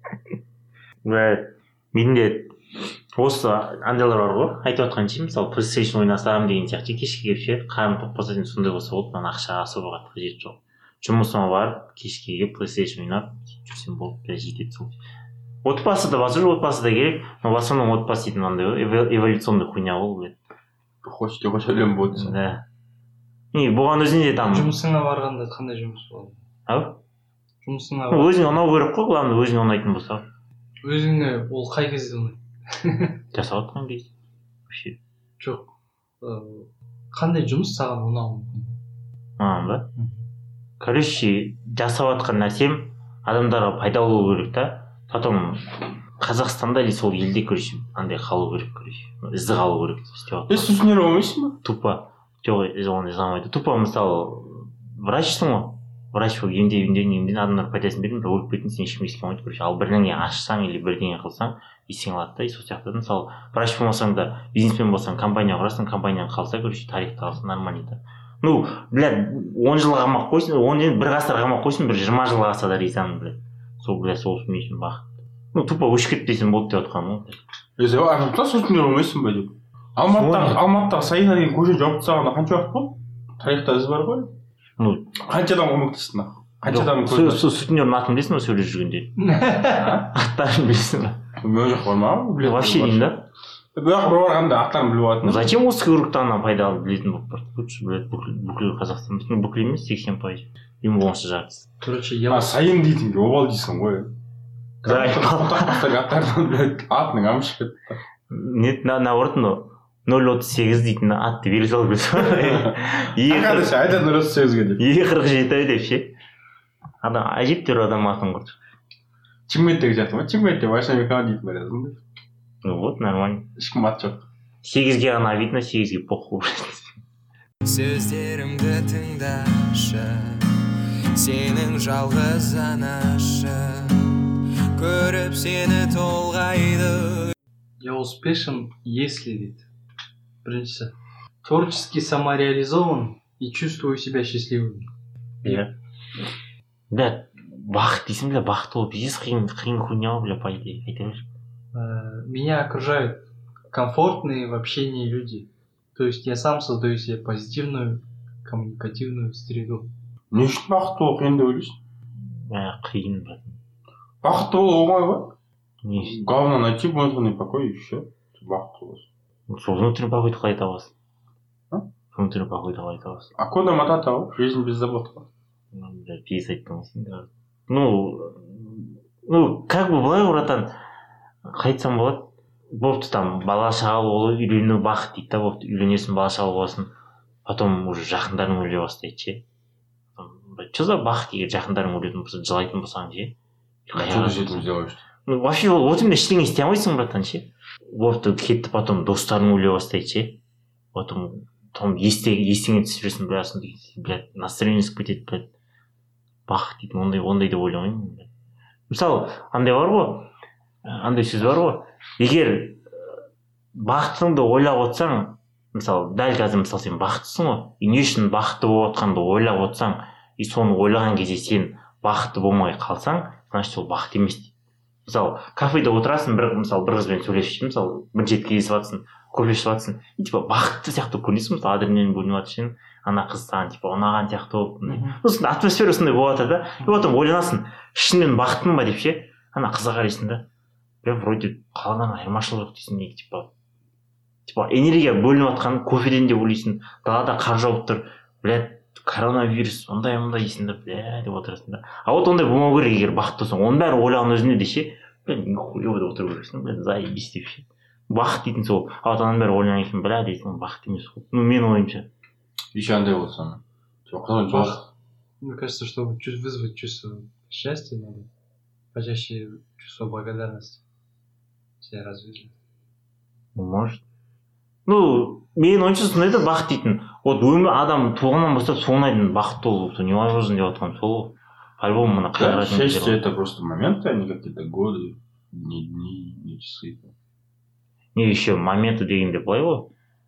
Менде осы андайлар бар ғой, айтып отқан ше, мысалы PlayStation ойнасам деген сияқты кешке келіп ше, қарным тоқ болса деймін сондай болса болды, маған ақшаға особо қатты қажеті жоқ. Жұмысыма барып, кешке келіп PlayStation ойнап жүрсем болды, бәрі жетеді сол. Отбасы да бар, отбасы да керек, но в основном отбасы дейтін андай ғой, эволюционный хуйня ғой, блядь. Хочешь, хочешь өлем болады. Да. И бұған өзінде там... Жұмысыңа барғанда қандай жұмыс болады? Ау? Жұмысыңа барғанда... Өзіңе ұнау керек қой, главное, өзіңе ұнайтын болса. Өзіңе ол қай кезде ұнайды? Жасап отқан кезде. Вообще. Жоқ. Қандай жұмыс саған ұнауы мүмкін? А, ба? Короче, жасап отқан нәрсем адамдарға пайдалы болу керек та. Потом Қазақстанда или сол елде, короче, андай қалу керек, короче. Ізді қалу керек істеп отқан. Сіз түсінер болмайсың ба? Тупо. Жоқ, оны жазамайды. Тупо мысалы, врачсың ғой. Врач болып емдеп емдеп емдеп адамдар пайдасын бердің, бірақ өліп кеттің, сен ешкім естіген болмайды, короче. Ал бірдеңе ашсаң или бірдеңе қылсаң, есің алады да, сол сияқты. Мысалы, врач болмасаң да, бизнесмен болсаң, компания құрасың, компанияң қалса, короче, тарихты алсаң нормально да. Ну, блядь, он жыл қамап қойсын, он енді бір ғасыр қамап қойсын, бір жиырма жыл қалса да ризамын, блядь. Сол, блядь, сол мен үшін бақыт. Ну, тупо өшіп кетпесем болды деп отқаным ғой. Есе, адамда түсінер болмайсың ба деп. Алматыдағы, Алматыдағы Саида деген көше жауып тастағанда қанша уақыт болды? Тарихта із бар ғой. Ну, қанша адам көмектесті? Қанша адам көмектесті? Сол сутенердің атын білесің ба сөйлеп жүргенде? Аттарын білесің ба? Мен жоқ бар ма? Вообще деймін да. Бірақ бір барғанда аттарын біліп алатын. Зачем осы кругтан пайдалы білетін болып барды? Лучше, блядь, бүкіл Қазақстан. Бүкіл емес, сексен пайыз. Ең болмаса жартысы. Короче, я... А, Сайын дейтін, обал дейсің ғой. Аттардан, блядь, атының амыш кетті. Нет, наоборот, но нөл отыз сегіз дейтін атты бере салып кетті. Ақадышы, айтады нөл отыз сегізге деп. екі қырық жеті деп ше. Адам әжептәуір адам атын құрды. Чимметтегі жатыр ма? Чимметте Вашамикан дейтін бар язым. Ну вот, нормально. Ешкім ат жоқ. сегізге ғана видно, сегізге похуй. Сөздерімді тыңдашы, сенің жалғыз анашы, көріп сені толғайды. Я успешен, если ведь. Біріншісі, творчески самореализован и чувствую себя счастливым. Иә. Бля, бақыт дейсің, бля, бақыт ол пиздец қиын, қиын хуйня, бля, по идее, айта бер. Меня окружают комфортные в общении люди. То есть я сам создаю себе позитивную коммуникативную среду. Не үшін бақытты болу қиын деп ойлайсың? Ә, қиын брат. Бақытты болу оңай ғой. Не, Главное найти внутренний покой и все. Бақытты боласың. сол внутренний покойды қалай табасың? А? Внутренний покойды қалай табасың? Акуна Матата ғой, жизнь без забот. Ну, бля, пейіс айттың ғой сен де. Ну, ну, как бы былай братан, қайтсам болады, бопты там бала шағалы болу, үйлену бақыт дейді да, бопты үйленесің, бала шағалы боласың, потом уже жақындарың өле бастайды ше. Че за бақыт егер жақындарың өлетін болса, жылайтын болсаң ше. А что ты с этим сделаешь? Ну, вообще вот именно ештеңе істей алмайсың братан ше. Бопты кетті, потом достарың өле бастайды ше. Потом там естеңе түсіп жүресің, бля, сондай, блядь, настроение түсіп кетеді, блядь. Бақыт дейді, ондай ондай деп ойламаймын. Мысалы, андай бар ғой, андай сөз бар ғой, егер бақытыңды ойлап отырсаң, мысалы, дәл қазір мысалы сен бақыттысың ғой, и не үшін бақытты болып отқанды ойлап отырсаң, и соны ойлаған кезде сен бақытты болмай қалсаң, значит ол бақыт емес дейді. Мысалы, кафеде отырасың, бір мысалы бір қызбен сөйлесіп, мысалы, бір жеті кездесіп жатсың, кофе ішіп жатсың, и типа бақытты сияқты көрінесің, мысалы, адреналин бөлініп жатыр сен, ана қыз саған типа ұнаған сияқты болып, сосын атмосфера сондай болып жатыр да, и потом ойланасың, шынымен бақыттымын ба деп ше, ана қызға қарайсың да, бля, вроде қаладан айырмашылық жоқ дейсің, неге типа типа энергия бөлініп жатқан кофеден де ойлайсың, далада қар жауып тұр, бля, коронавирус ондай мындай дейсің да, бля деп отырасың да. А вот ондай болмау керек, егер бақытты болсаң, оның бәрі ойлаған өзіне де ше, бля, нихуя деп отыру керексің, бля, заебись деп ше. Бақыт дейтін сол, а вот ананың бәрі ойлаған екен, бля дейсің, бақыт емес қой. Ну, менің ойымша. Еще андай болса, Бах. Мне кажется, чтобы вызвать чувство счастья, надо почаще чувство благодарности себя развить. Может. Ну, менің ойымша сондай да бақыт дейтін. Вот өмір адам туғаннан бастап соңына дейін бақытты болу, невозможно деп отқан сол. По-любому мына да, счастье это просто моменты, а не какие-то годы, не дни, не часы. Не еще моменты дегенде былай ғой.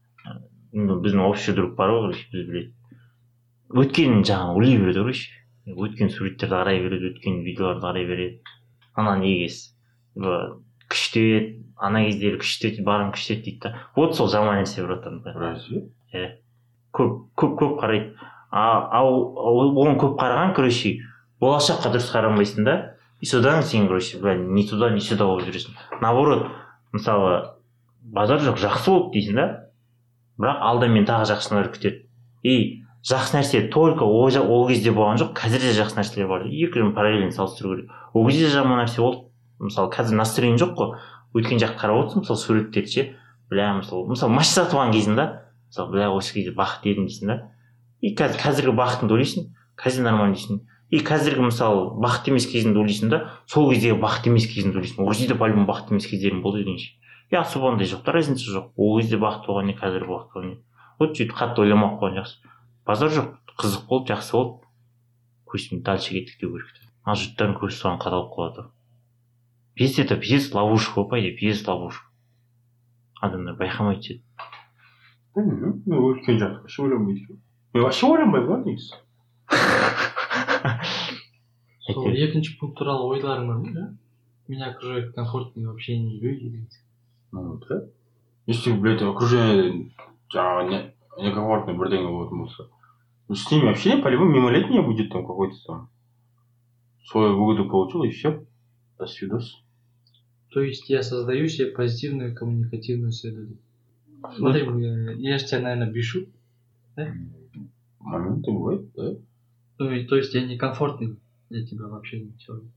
Біздің общий друг бар ғой, біз біледі. Өткен жаңағы ойлай береді короче. Өткен суреттерді қарай береді, өткен видеоларды қарай береді. Ана негес күшті еді, ана кездері күшті еді, барым күшті еді дейді да. Вот сол жаман нәрсе братан. Разве? Иә. Көп көп көп қарайды. А оған көп қараған короче, болашаққа дұрыс қарамайсың да. И содан сен короче, бля, не туда, не сюда болып жүресің. Наоборот, мысалы базар жоқ, жақсы болды дейсің да. Бірақ алда мен тағы жақсылар күтеді. И жақсы нәрсе только ол кезде болған жоқ, қазір де жақсы нәрселер бар. Екеуін параллельно салыстыру керек. Ол кезде жаман нәрсе болды. Мысалы қазір настроение жоқ қой. Өткен жақты қарап отырсың, мысалы суреттерді ше, бля, мысалы, мысалы машина сатып алған кезінде, мысалы, бля, осы кезде бақытты едім дейсің да. И қазір қазіргі бақытыңды ойлайсың, қазір нормально дейсің. И қазіргі мысалы бақытты емес кезіңді ойлайсың да, сол кездегі бақытты емес кезіңді ойлайсың. Ол кезде по-любому бақытты емес кездерің болды дегенше. Я особо ондай жоқ, разница жоқ. Ол кезде бақытты болған не, қазір бақытты болған не. Вот сөйтіп қатты ойламақ қойған жақсы. Базар жоқ, қызық болды, жақсы болды. Көзім дальше кеттік деу керек. А жұрттардың көзі соған қадалып қалады. Пиздец это пиздец ловушка, по идее, пиздец ловушка. Адамдар байқамай түседі. Білмеймін, мен өткен жақты вообще ойламайды. Мен вообще ойламаймын ғой негізі. Сол екінші пункт туралы ойларың бар ма? Меня окружают комфортные в общении люди. Ну да. Если, блядь, окружение жаңағы некомфортный бірдеңе болатын болса, с ними общение по-любому мимолетнее будет там какой-то там свою выгоду получил и все. До свидос. То есть я создаю себе позитивную коммуникативную среду. Смотри, я, я же тебя, наверное, бешу, да? Моменты бывают, да? Ну и то есть я некомфортный для тебя вообще не человек.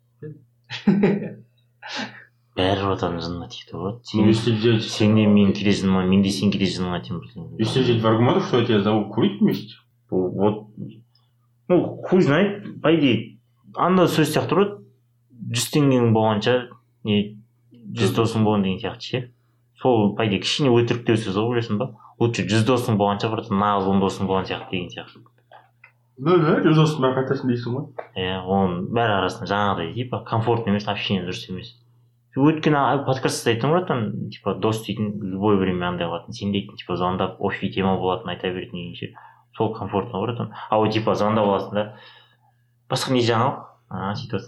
Бәрі отан жынына тиді ғой. Если взять... Сен де мен келе жыныма, мен де сен келе жыныма тиемін. Если взять в аргументах, что я тебя зову курить вместе? Вот, ну, хуй знает, по идее, анда сөз сияқты тұрады, жүз теңгенің болғанша, не, жүз досың болған деген сияқты ше. Сол, по идее, кішкене өтіріктеу сөз ғой, білесің ба? Лучше жүз досың болғанша, бір нағыз он досың болған сияқты деген сияқты. Ну да, жүз досың бәрі қайтасын дейсің ғой. Иә, оның бәрі арасында жаңағыдай, типа, комфортный емес, общение дұрыс емес. Өткен подкастта айттым братан, типа, дос дейтін любой время андай алатын, сен дейтін, типа, звондап, офи тема болатын айта беретін дегенше, сол комфортно братан. А вот, типа, звондап аласың да, басқа не жаңалық, а, сөйтіп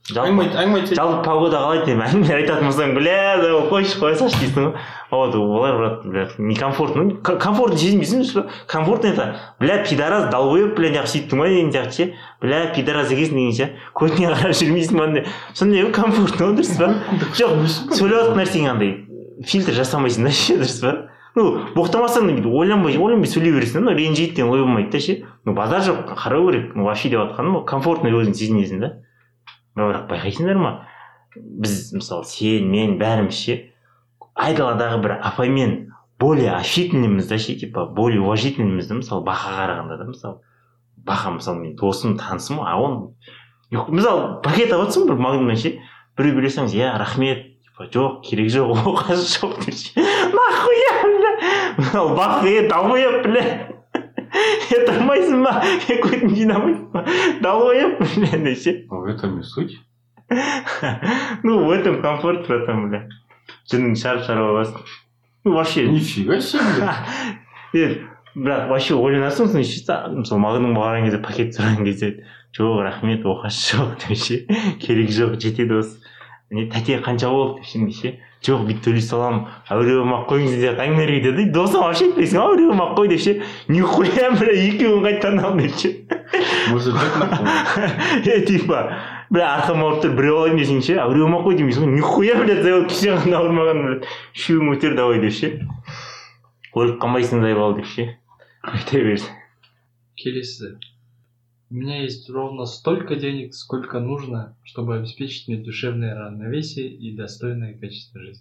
жалпы погода қалай деп әңгіме айтатын болсаң, бля, қойшы қоя салшы дейсің ғой. Вот олар брат, бля, некомфортно. Комфортно сезінбейсің ба? Комфортно это, бля, пидорас долбоеб, бля, неғып сөйттің ғой деген сияқты ше. Бля, пидорас екенсің деген ше. Көтіне қарап жүрмейсің ба? Сондай комфортно дұрыс па? Жоқ, сөйлеп жатқан нәрсең андай фильтр жасамайсың да ше, дұрыс па? Ну, боқтамасаң ойланбай, ойланбай сөйлей бересің, ну, ренжиді деген ой болмайды да ше. Ну, базар жоқ, қарау керек. Ну, вообще деп жатқаным, комфортно өзің сезінесің да. Бірақ байқайсыңдар ма? Біз, мысалы, сен, мен, бәріміз ше, айдаладағы бір апаймен более общительныймыз да ше, типа, более уважительныймыз да, мысалы, бақа қарағанда да, мысалы. Бақа, мысалы, мен досым, танысым, а он... Мысалы, пакет алып бір магнумнан ше, біреу білесеңіз, я, рахмет, жоқ, керек жоқ, оқасы жоқ деп ше. Нахуя, бля? Бақы, долбоеб, бля. Это тұрмайсың ба? Көтін жинамайсың ба? Долбоеб, бля, деп ше. В этом и суть. Ну, в этом комфорт, братан, бля. Жының шарп-шарп аласың. Ну, вообще... Нифига себе, бля. Бірақ, вообще ойланасың, мысалы, мағының бағарған кезде, пакет сұраған кезде, жоқ, рахмет, оқасы жоқ деп ше. Керек жоқ, жетеді осы. Не тәте қанша болды деп ше. Жоқ, бүйтіп төлей саламын, әуреуім-ақ қойыңыз деп әңгімелер кетеді. Досым вообще айтпайсың, әуреуім-ақ қой деп ше. Нихуя, бля, екеуін қайтадан ал деп ше. Музыкат нахуй. Е, типа, бля, арқам ауырып тұр, біреу алайын десең ше, әуреуім-ақ қой демейсің. Нихуя, бля, завод кеше ғана ауырмаған, бля, үшеуің өтер давай деп ше. Өліп қанбайсыңдай бол деп ше. Айта берсің. Келесі. У меня есть ровно столько денег, сколько нужно, чтобы обеспечить мне душевное равновесие и достойное качество жизни.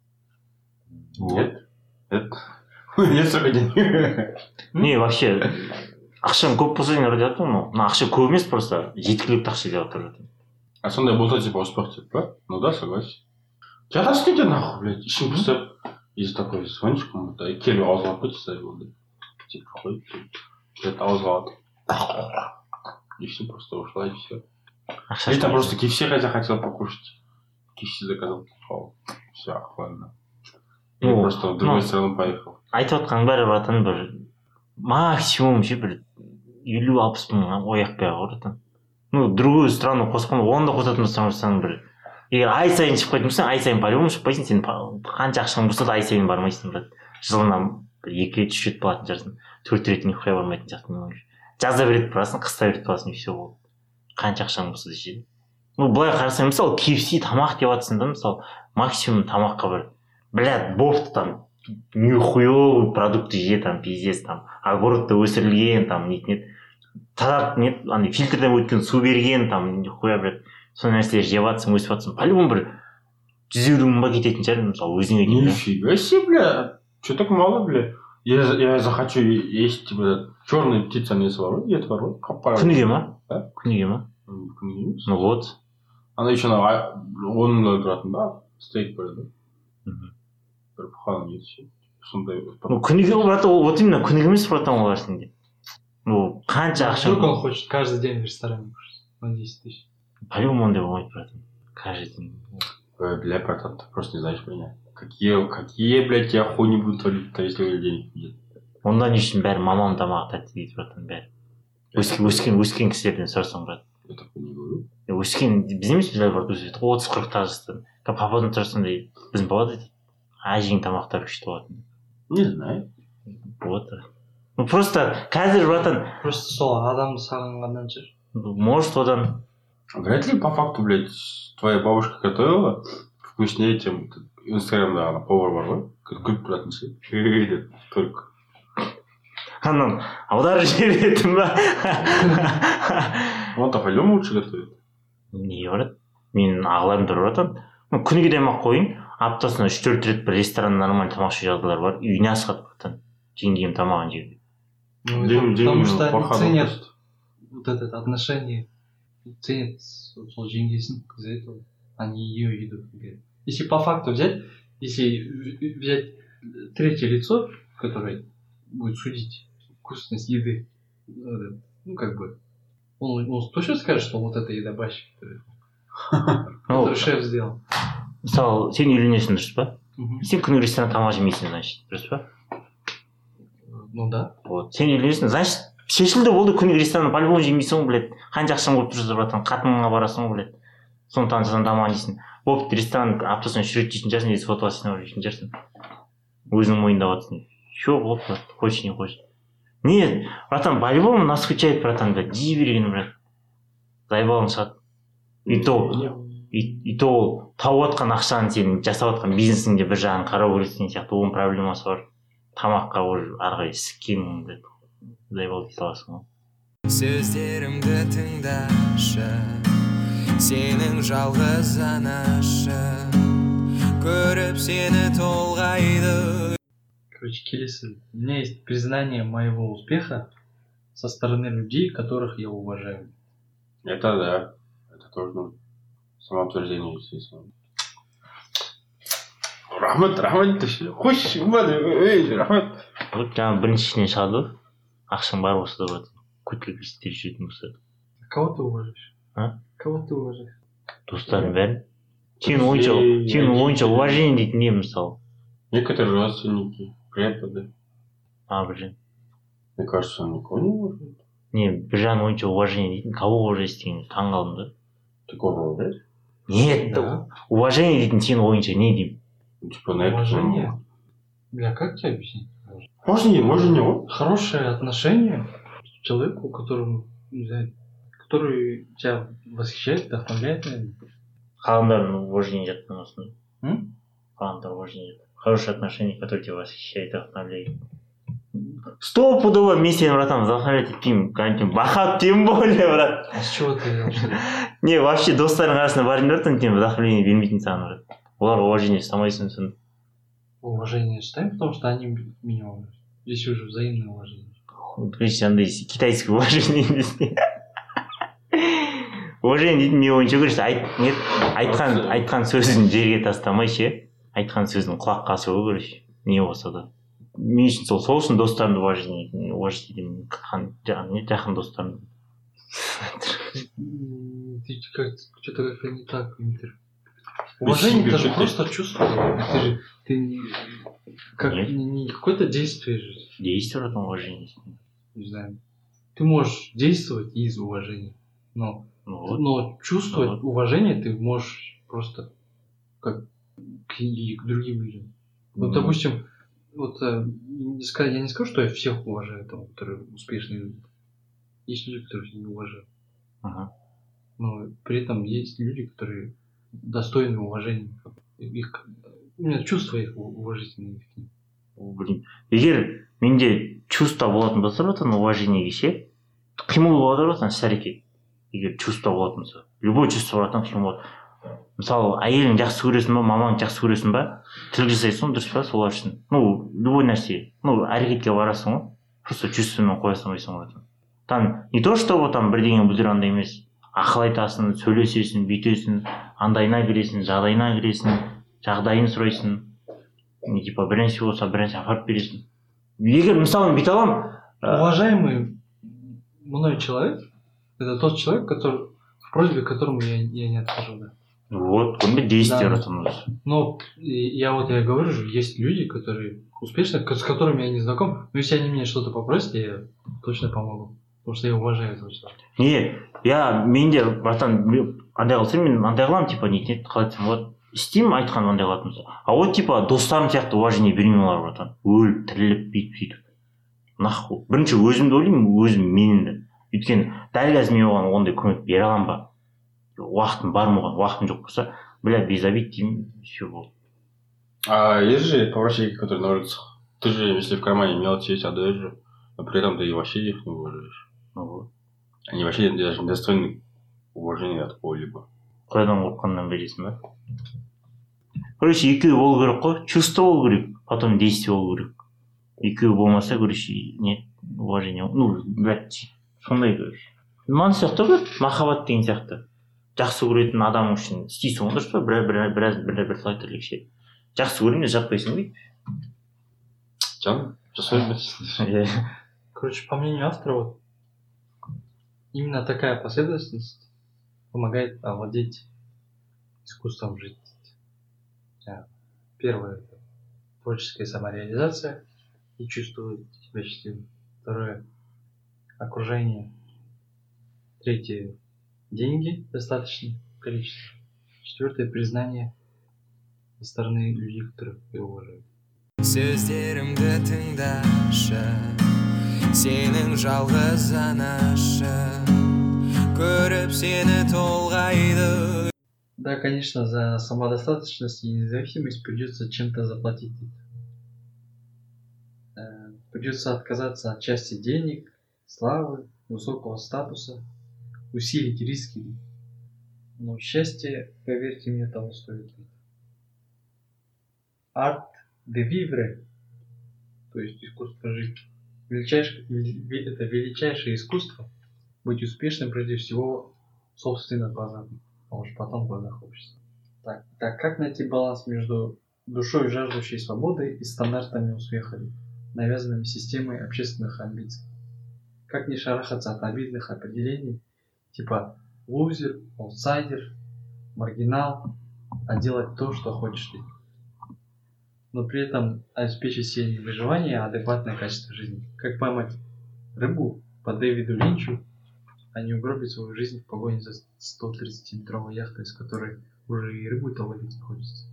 Нет. Нет. Нет столько денег. Не, вообще, ақшаң көп болса деген радио айтты, но ақша көп емес, просто жеткілікті ақша деп отыр. А сондай болса, типа, успех, типа, ну да, согласен. Жатасың нахуй, блядь, ішің пыстап, если такой звонишь кому-то, и келіп ауызға алып кетсе, болды. Типа, қой, где-то ауызға алып. И все, просто ушла, и все. Или там просто кей эф си хотя хотел покушать. кей эф си заказал. Все, охуенно. И ну, просто в другую ну, страну поехал. Айтып отқан бәрі братан бір максимум ше бір елу алпыс мың ояқпай братан. Ну, другую страну қосқанда оны да қосатын болсаң бір егер ай сайын шығып қайтын болсаң, ай сайын по-любому шықпайсың, сен қанша ақшаң болса да ай сайын бармайсың брат. Жылына бір екі рет үш рет болатын шығарсың, төрт рет нихуя бармайтын сияқтың. Жазда бір рет барасың, қыста бір рет барасың, и все болды. Қанша ақшаң болса да ше. Ну, былай қарасаң, мысалы, кей эф си тамақ деп жатсың да, мысалы, максимум тамаққа бір, блядь, бопты там, нихуевый продукты же, там, пиздец, там, огородта өсірілген, там, нет, нет, тазартып, нет, андай фильтрден өткен су берген, там, нихуя, блядь, сондай нәрселер жеп жатсың, өсіп жатсың, по-любому бір жүз елу мың ба кететін шығар, мысалы, өзіңе кетеді. Нифига себе, бля, что так мало, бля? Я, я захочу есть, типа, черная птица не свару, я твору, капаю. Күніге ма? Да? Күніге ма? Күніге емес. Ну вот. Она еще на он тұратын да, стоит бір да. Бір бұқаның ет сондай. Ну күніге брат, вот именно күніге емес братан олар сенде. Ну қанша ақша? Вдруг он хочет каждый день в ресторане кушать на десять тысяч. По-любому ондай болмайды братан. Каждый день. Ой, бля, братан, ты просто не знаешь меня. Какие, какие, блядь, я хуйни буду творить-то, если у денег нет. Онда не үшін бәрі мамам тамағы тәтті дейді братан, бәрі. Өскен, өскен, өскен кісілерден сұрасаң брат. Я такой не говорю. Өскен, біз емес біздер бар өседі, отыз қырықтағы жастан. Пападан сұрасаң дейді, біздің бала дейді, әжең тамақтар күшті болатын. Не знаю. Вот. Ну просто қазір братан. Просто сол адамды сағынғаннан шығар. Может одан. Вряд ли по факту, блядь, твоя бабушка готовила вкуснее, чем инстаграмда ана повар бар ғой, күліп тұратын ше. Только. Анан аударып жіберетін ба? Он-то по-любому лучше готовит. Не брат, менің ағаларым тұр братан. Күніге тамақ қойын, аптасына үш төрт рет бір ресторан нормальный тамақ ішу жағдайлар бар, үйіне асығады братан. Жеңгем тамағын жейді. Потому что они ценят вот это отношение, ценят сол жеңгесін из-за этого, а не ее еду. Если по факту взять, если взять третье лицо, которое будет судить вкусность еды, ну как бы, он, он точно скажет, что вот это еда бащик, который шеф сделал. Мысалы, сен үйленесің, дұрыс па? Сен күні ресторан тамақ жемейсің, значит, дұрыс па? Ну да. Вот, сен үйленесің, значит, шешілді болды күні ресторан по-любому жемейсің, блядь, қанша ақшаң болып тұрсыз, братан, қатыныңа барасың, блядь. соны танысаң тамағын жейсің. Бопты, ресторан аптасына үш рет жейтін шығарсың, есі фотоға синап жейтін шығарсың. Өзің мойындап отырсың. Шо, вот, хочешь, не хочешь. Нет, братан, по-любому нас скучает, братан, блядь, жей бергені, брат. Заебалың шығады. И то, и, и то ол тауып отқан ақшаны сенің жасап отқан бизнесіңде бір жағын қарау керексің сияқты, оның проблемасы бар. Тамаққа уже ары қарай сіккеніңді заебал дей саласың ғой. Сөздерімді тыңдашы, сенің жалғыз анашы, көріп сені толғайды. Короче, келесі. У меня есть признание моего успеха со стороны людей, которых я уважаю. Это да. Это тоже нужно. Самоутверждение, естественно. Рахмет, рахмет. Хош, ей, рахмет. Вот жаңа біріншісінен шығады, ақшаң бар болса да братан, көтіліп істер жүретін болса. Кого ты уважаешь? А? Кого ты уважаешь? Достарың бәрін. Сенің ойынша, сенің ойынша уважение дейтін не мысалы? Некоторые родственники, преподы. А, бір жан. Мне кажется, он никого не уважает. Не, бір жан ойынша уважение дейтін, кого уважаешь деген таң қалдым да. Ты кого уважаешь? Нет, Да. уважение дейтін сенің ойынша не деймін? Ну, типа на это. Уважение? Бля, как тебе объяснить? Можно не, можно не. Хорошее отношение к человеку, которому, не знаю, который тебя восхищает, вдохновляет, наверное. Қаламдардың уважение жаттың осыны. М? Қаламдар уважение жаттың. Хорошие отношения, которые тебя восхищают, вдохновляют. Стопудово мен сені, братан, вдохновлять етпеймін. Кәнекей, бахат тем более, брат. А с чего ты взял, что ли? Не, вообще достарың арасында барың братан, тем вдохновление бермейтін саған, брат. Олар уважение жасамайсың сын. Уважение ставим, потому что они меня уважают. Здесь уже взаимное уважение. Короче, андай китайский уважение емес. Уважение дейтін не ойынша көрші, нет, айтқан, айтқан сөзін жерге тастамай ше, айтқан сөзін құлаққа асыру көрші, не болса да. Мен үшін сол, сол үшін достарымды уважение етемін, жақын достарымды. Ты как, что-то как-то не так, Дмитрий. Уважение это же просто чувство. Это же ты не, как, не, не какое-то действие же. Действие в уважение. Не знаю. Ты можешь действовать из уважения, но, ну, вот. но чувствовать ну, вот. уважение ты можешь просто как к, и к другим людям. Вот, mm-hmm. допустим, вот я не скажу, что я всех уважаю, там, которые успешные люди. Есть люди, которых я не уважаю. Uh-huh. Но при этом есть люди, которые достойны уважения. Их, у меня чувства их уважительные. Блин, егер менде чувство болатын болса, братан, уважениеге ше, қимыл болады, братан, іс-әрекет. Егер чувство болатын болса, любой чувство, братан, қимыл болады. Мысалы, әйелің жақсы көресің ба, мамаң жақсы көресің ба, тіл жасайсың, дұрыс па, солар үшін. Ну, любой нәрсе, ну, әрекетке барасың ғой, просто чувствомен қоясың ойсың, братан. Там не то, что вот там бірдеңе бүлдір андай емес, ақыл айтасың, сөйлесесің, бүйтесің, андайына кіресің, жағдайына кіресің, жағдайын сұрайсың, не типа бірнәрсе болса бірнәрсе апарып бересің. Егер мысалы бүйте аламын, уважаемый мной человек, это тот человек, который в просьбе, которому я, я не откажу, да. Вот, он бы действие да. ратанулся. Но я вот я говорю же, есть люди, которые успешны, с которыми я не знаком, но если они меня что-то попросят, я точно помогу. Потому что я уважаю этого человека. Не, я менде братан андай қылсам мен андай қыламын, типа не қалай айтсам болады, істеймін айтқан андай қылатын болса. А вот типа достарым сияқты уважение бермеймін оларға, братан. Өліп тіріліп бүйтіп сөйтіп. Нахуй. Бірінші өзімді ойлаймын, өзім менімді. Өйткені дәл қазір мен оған ондай көмек бере аламын ба? Уақытым бар ма оған, уақытым жоқ болса, бля, без обид деймін, все болды. А есть же поворотники, которые на улицах. Ты же, если в кармане мелочи есть, отдаешь же, но при этом ты и вообще их не уважаешь. Ну вот. Они вообще даже недостойны уважения от кого-либо. Қайдан қорыққаннан бересің ба? Короче, екеуі болу керек қой, чувство болу керек, потом действие болу керек. Екеуі болмаса, короче, нет, уважение, ну, блядь, сондай, короче. Ман сияқты ғой, махаббат деген сияқты. Жақсы көретін адам үшін істейсің ғой, дұрыс па? Біраз біраз біраз бір слайд тірлікше. Жақсы көрмей жатпайсың ғой. Жан, жасай бересің. Короче, по мнению автора, вот именно такая последовательность помогает овладеть искусством жить. Первое – это творческая самореализация и чувствовать себя счастливым. Второе – окружение. Третье – деньги в достаточном количестве. Четвертое — признание со стороны людей, которых я уважаю. Сөздерімді тыңдашы, сенің жалғыз анашы, көріп сені толғайды. Да, конечно, за самодостаточность и независимость придется чем-то заплатить. Э, Придется отказаться от части денег, славы, высокого статуса, усилить риски. Но счастье, поверьте мне, того стоит. Арт де вивре, то есть искусство жить. Величайшее, это величайшее искусство быть успешным прежде всего в собственных глазах, а уж потом в глазах общества. Так, так как найти баланс между душой, жаждущей свободы, и стандартами успеха, навязанными системой общественных амбиций? Как не шарахаться от обидных определений типа лузер, аутсайдер, маргинал, а делать то, что хочешь ты, но при этом обеспечить себе не выживание, а адекватное качество жизни? Как поймать рыбу по Дэвиду Линчу, а не угробить свою жизнь в погоне за сто тридцатиметровой яхтой, из которой уже и рыбу-то ловить не хочется.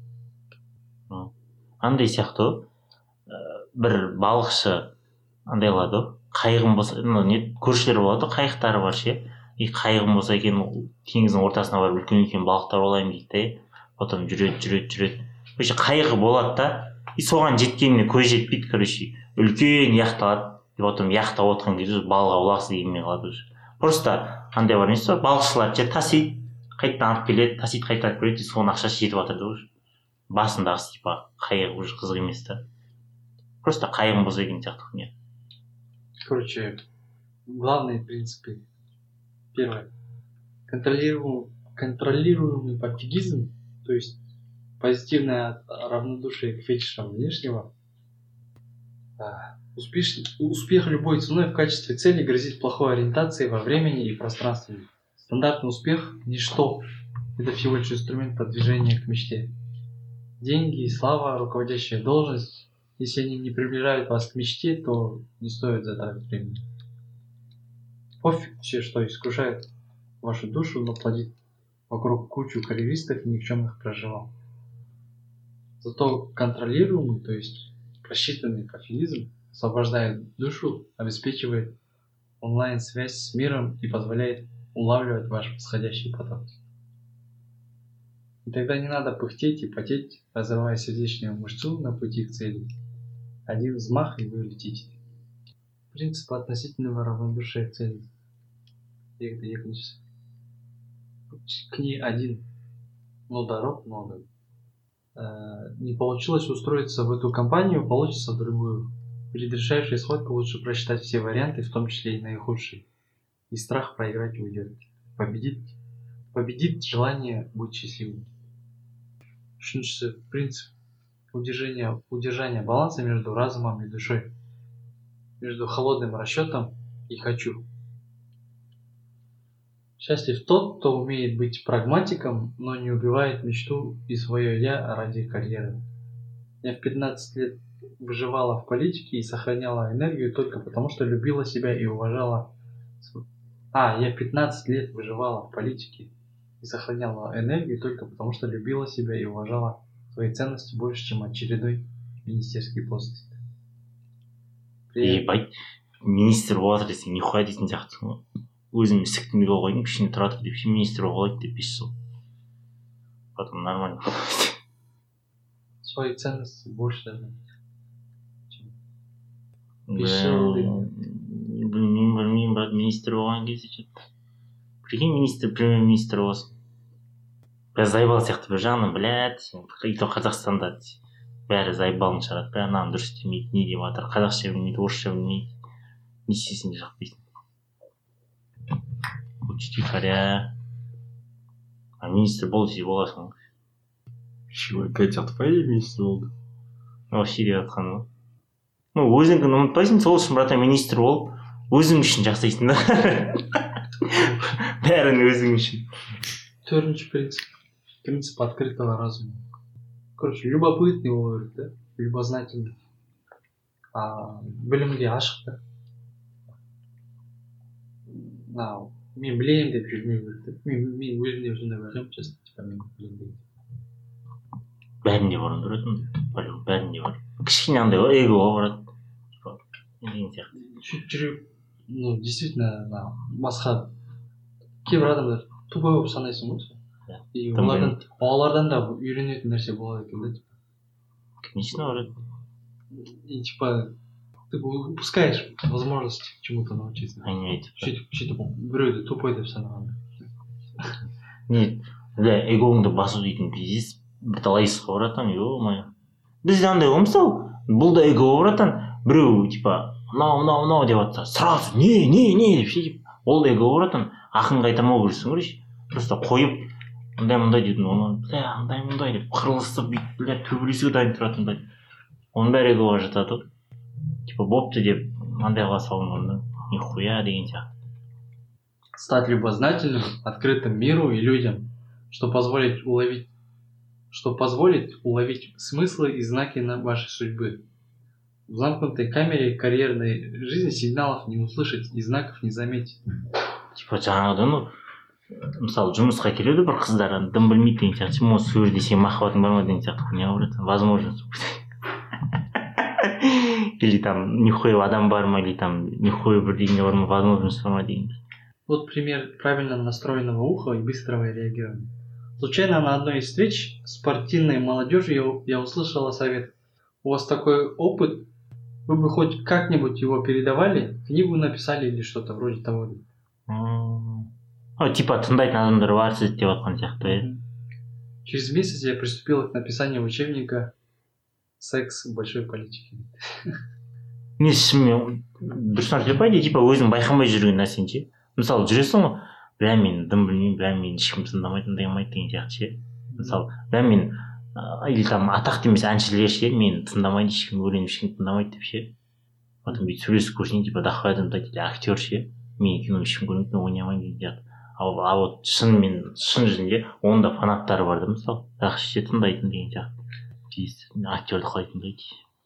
Андай сияқты бір балықшы андай қылады ғой, қайығым болса, ну не көршілер болады ғой, қайықтары бар ше, и қайығым болса екен теңіздің ортасына барып үлкен үлкен балықтар аулаймын дейді де, потом жүреді жүреді жүреді, короче қайығы болады да, и соған жеткеніне көз жетпейді, короче үлкен яхта алады, и потом яхта отқан кезде балға аулағысы келмей қалады уже. Просто андай бар несі бар, балықшылар же тасиды, қайтадан алып келеді, тасиды қайтадан алып келеді, соның ақшасы жетіп жатыр да уже. Басындағысы типа қайығы уже қызық емес та. Просто қайығым болса екен сияқты не. Короче, главные принципы. Первое. Контролируемый, контролируемый пофигизм, то есть позитивное равнодушие к фетишам внешнего. Успеш... Успех любой ценой в качестве цели грозит плохой ориентацией во времени и пространстве. Стандартный успех – ничто. Это всего лишь инструмент продвижения к мечте. Деньги, слава, руководящая должность, если они не приближают вас к мечте, то не стоит затратить времени. Пофиг все, что искушает вашу душу, но плодит вокруг кучу карьеристов и никчемных проживал. Зато контролируемый, то есть просчитанный пофигизм, освобождает душу, обеспечивает онлайн-связь с миром и позволяет улавливать ваш восходящий поток. И тогда не надо пыхтеть и потеть, разрывая сердечную мышцу на пути к цели. Один взмах, и вы летите. Принцип относительного равнодушия к цели. К ней один, но дорог много. Не получилось устроиться в эту компанию, получится в другую. Перед решающей схваткой лучше просчитать все варианты, в том числе и наихудшие. И страх проиграть уйдет. Победит, победит желание быть счастливым. Үшіншісі принцип удержания, удержания баланса между разумом и душой, между холодным расчетом и хочу. Счастлив тот, кто умеет быть прагматиком, но не убивает мечту и свое «я» ради карьеры. Я в пятнадцать лет выживала в политике и сохраняла энергию только потому, что любила себя и уважала... А, я в пятнадцать лет выживала в политике и сохраняла энергию только потому, что любила себя и уважала свои ценности больше, чем очередной министерский пост. Ебать, министр болады десең, нихуя дейтін сияқтысың ғой. Өзім ісіктің бе қойдым, кішкене тұра тұр деп, министр болады деп бес жыл. Потом нормально. Свои ценности больше даже. Білмеймін, білмеймін, брат, министр болған кезде что-то. Прикинь, министр, премьер-министр болсын. Бәрі заебал сияқты бір жағынан, блядь, и то Қазақстанда бәрі заебалын шығарады, бәрі мынаны дұрыс істемейді, не деп жатыр, қазақша білмейді, орысша білмейді, не істесін де жақпайсың. Учти харя. А министр бол десе боласың. Чего, Катя, твоей министр болды? Вообще деп жатқан ғой. Ну, өзіңді ұмытпайсың, сол үшін брата министр болып, өзің үшін жасайсың да. Бәрін өзің үшін. Төртінші принцип. Принцип открытого разума. Короче, любопытный болу керек, да? Любознательный. А білімге ашық та. мен білемін деп жүрмеу керек. Мен мен өзімде сондай байқаймын, честно, типа мен білемін деп. Бәрінде бар ондай ғой, бәрінде бар. Кішкене андай ғой, эгоға барады. Типа деген сияқты. Сөйтіп жүріп, ну действительно басқа кейбір адамдар тупой болып санайсың ғой. И олардан олардан да үйренетін нәрсе болады екен да, типа. Конечно, барады. И типа ты упускаешь возможность чему-то научиться. Әңгіме айтып. Сөйтіп сөйтіп біреуді тупой деп санағанда. Не, бля, эгоңды басу дейтін пиздец бірталай исқа баратан, ё-моё. Бізде андай ғой, мысалы, бұл да эго баратан, біреу типа мынау мынау мынау деп жатса, сразу не не не деп сөйтіп, ол да эго баратан, ақын қайтамау көрсің көрші. Просто қойып мындай мындай дейтін, оны бля андай мындай деп қырылысып бүйтіп, бля төбелесуге дайын тұратындай. Оның бәрі эгоға жатады. Типа бопты деп мындай қыла салынғанда, нихуя деген сияқты. Стать любознательным, открытым миру и людям, что позволит уловить, что позволит уловить смыслы и знаки на вашей судьбы. В замкнутой камере карьерной жизни сигналов не услышать и знаков не заметить. Типа жаңағыдан, ну, мысалы жұмысқа келеді бір қыздар, дым білмейді деген сияқты, сен осы жерде сен махаббатың бар ма деген сияқты, не говорит, возможно. Или там нихуя адам бар ма, или там нихуя бірдеңе бар ма, возможность бар ма деген. Вот пример правильно настроенного уха и быстрого реагирования. Случайно на одной из встреч с спортивной молодежью я, я услышала совет. У вас такой опыт, вы бы хоть как-нибудь его передавали, книгу написали или что-то вроде того. О, типа тыңдайтын адамдар бар сіз деп жатқан сияқты, иә. Через месяц я приступила к написанию учебника «Секс в большой политике». Не шынымен дұрыстан сөйлепайды, типа өзің байқамай жүрген нәрсен ше. Мысалы жүресің ғой, бля мен дым білмеймін, бля мен ешкім тыңдамайды, тыңдамайды деген сияқты ше. Мысалы, бля мен или там атақты емес әншілер ше, мен тыңдамайды, ешкім өлең ешкім тыңдамайды деп ше. Потом бүйтіп сөйлесіп көрсең, типа дохуя адам айтады, актер ше, мен кино ешкім көрмейді, мен ойнай алмаймын деген сияқты. Ал а вот шынымен шын жүзінде оның да фанаттары бар да, мысалы, бірақ ше тыңдайтын деген сияқты. Пиздец, актерді қалай тыңдайды.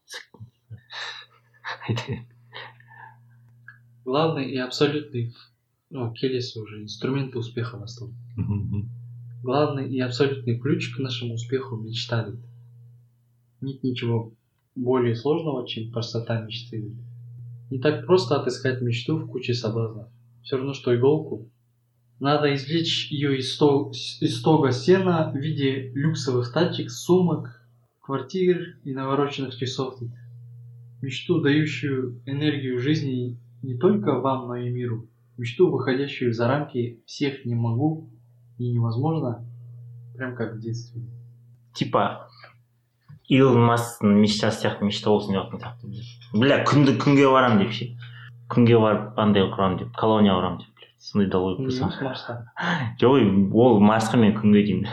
Главный и абсолютный, ну, келесі уже инструменты успеха настал. Главный и абсолютный ключ к нашему успеху — мечта. Нет ничего более сложного, чем простота мечты. Не так просто отыскать мечту в куче соблазнов. Все равно, что иголку. Надо извлечь ее из, сто... из стога сена в виде люксовых тачек, сумок, квартир и навороченных часов. Мечту, дающую энергию жизни не только вам, но и миру. Мечту, выходящую за рамки всех «не могу» и «невозможно», прям как в детстве. Типа Илон Масктың мечтасы сияқты мечта болсын деп жатқан сияқты. Бля, күнді күнге барам деп ше. Күнге барып андай құрамын деп, колония құрамын деп. Сондай да ой болса. Жоқ, ол Марсқа мен күнге деймін.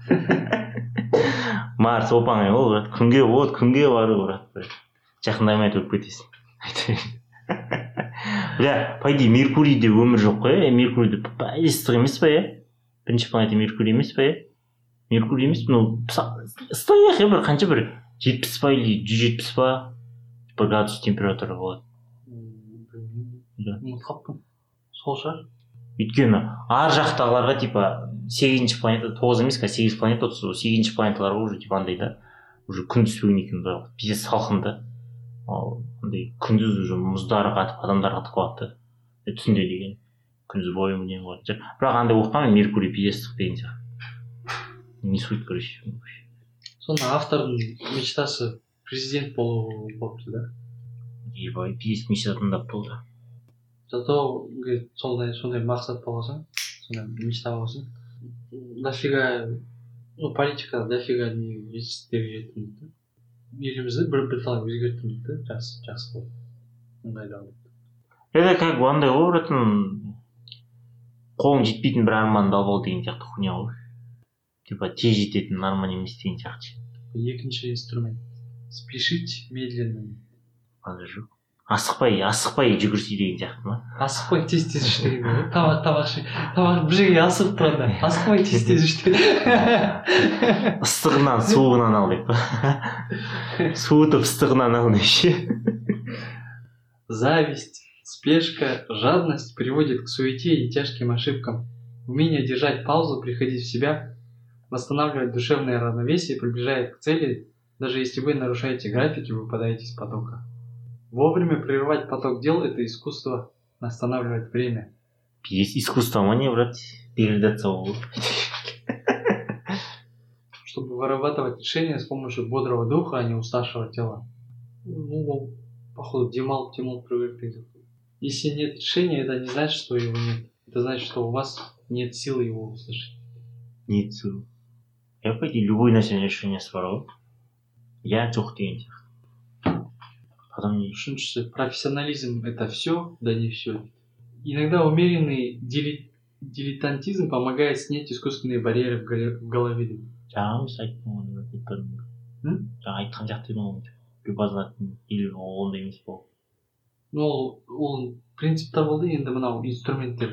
Марс опаңай ол брат, күнге вот, күнге бару брат. Жақындамай өліп кетесің. Бля, по идее Меркурийде өмір жоқ қой, Меркурийде ыстық емес па, е? Бірінші планета Меркурий емес па, е? Меркурий емес, ну, ыстық е, бір қанша бір жетпіс па или жүз жетпіс па бір градус температура болады. Ұмытқаппын. Сол шығар. Өйткені ар жақтағыларға типа сегізінші планета, тоғыз емес, сегіз планета, сегізінші планеталарға уже типа андай да, уже күн түспеген екен, пиздец салқын да. Ал андай күндіз уже мұздар қатып, адамдар қатып қалады. Түсінде деген күндіз бойы не болады. Бірақ андай оқығанмен Меркурий пиздец ыстық деген сияқты. Не суть, короче. Сонда автордың мечтасы президент болу болыпты да? Ебай, пиздец мечта тыңдап болды. Зато, говорит, сондай сондай мақсат болсаң, сондай мечта болсаң, дофига, ну, политика дофига не жетістіктерге жеттім дейді. Елімізді бір бірталай өзгерттім дейді, жақсы, жақсы болды. Ыңғайлы алды. Это как бы андай ғой, братын, қолың жетпейтін бір арманды алып ал деген сияқты хуйня ғой. Типа тез жететін арман емес деген сияқты. Екінші инструмент. Спешить медленно. Андай жоқ. Асықпай, асықпай жүгірсе деген сияқты ма? Асықпай тез-тез іш деген ғой. Тамақ, тамақ ішіп, тамақ бір жерге асығып тұрады. Асықпай тез-тез іш деген. Ыстығынан, суығынан ал деп. Суытып ыстығынан ал деп ше. Зависть, Спешка, жадность приводит к суете и тяжким ошибкам. Умение держать паузу, приходить в себя, восстанавливать душевное равновесие приближает к цели, даже если вы нарушаете график и выпадаете из потока. Вовремя прерывать поток дел – это искусство останавливать время. Есть искусство ма не, брат? Передаться ол. Чтобы вырабатывать решения с помощью бодрого духа, а не уставшего тела. Ну, походу, Димал, Тимул привык. Если нет решения, это не значит, что его нет. Это значит, что у вас нет силы его услышать. Нет силы. Я по идее любой нәрсені решение свару. Я жоқ деген сияқты. Потом не Үшіншісі, профессионализм – это все, да не все. Иногда умеренный дили... дилетантизм помогает снять искусственные барьеры в, голе... в голове. жаңа емес айттым оны айтпадым. Жаңа айтқан сияқты едім ғой. Базатын или ондай емес бол. Ну, ол, ол принциптер болды, енді мынау инструменттер.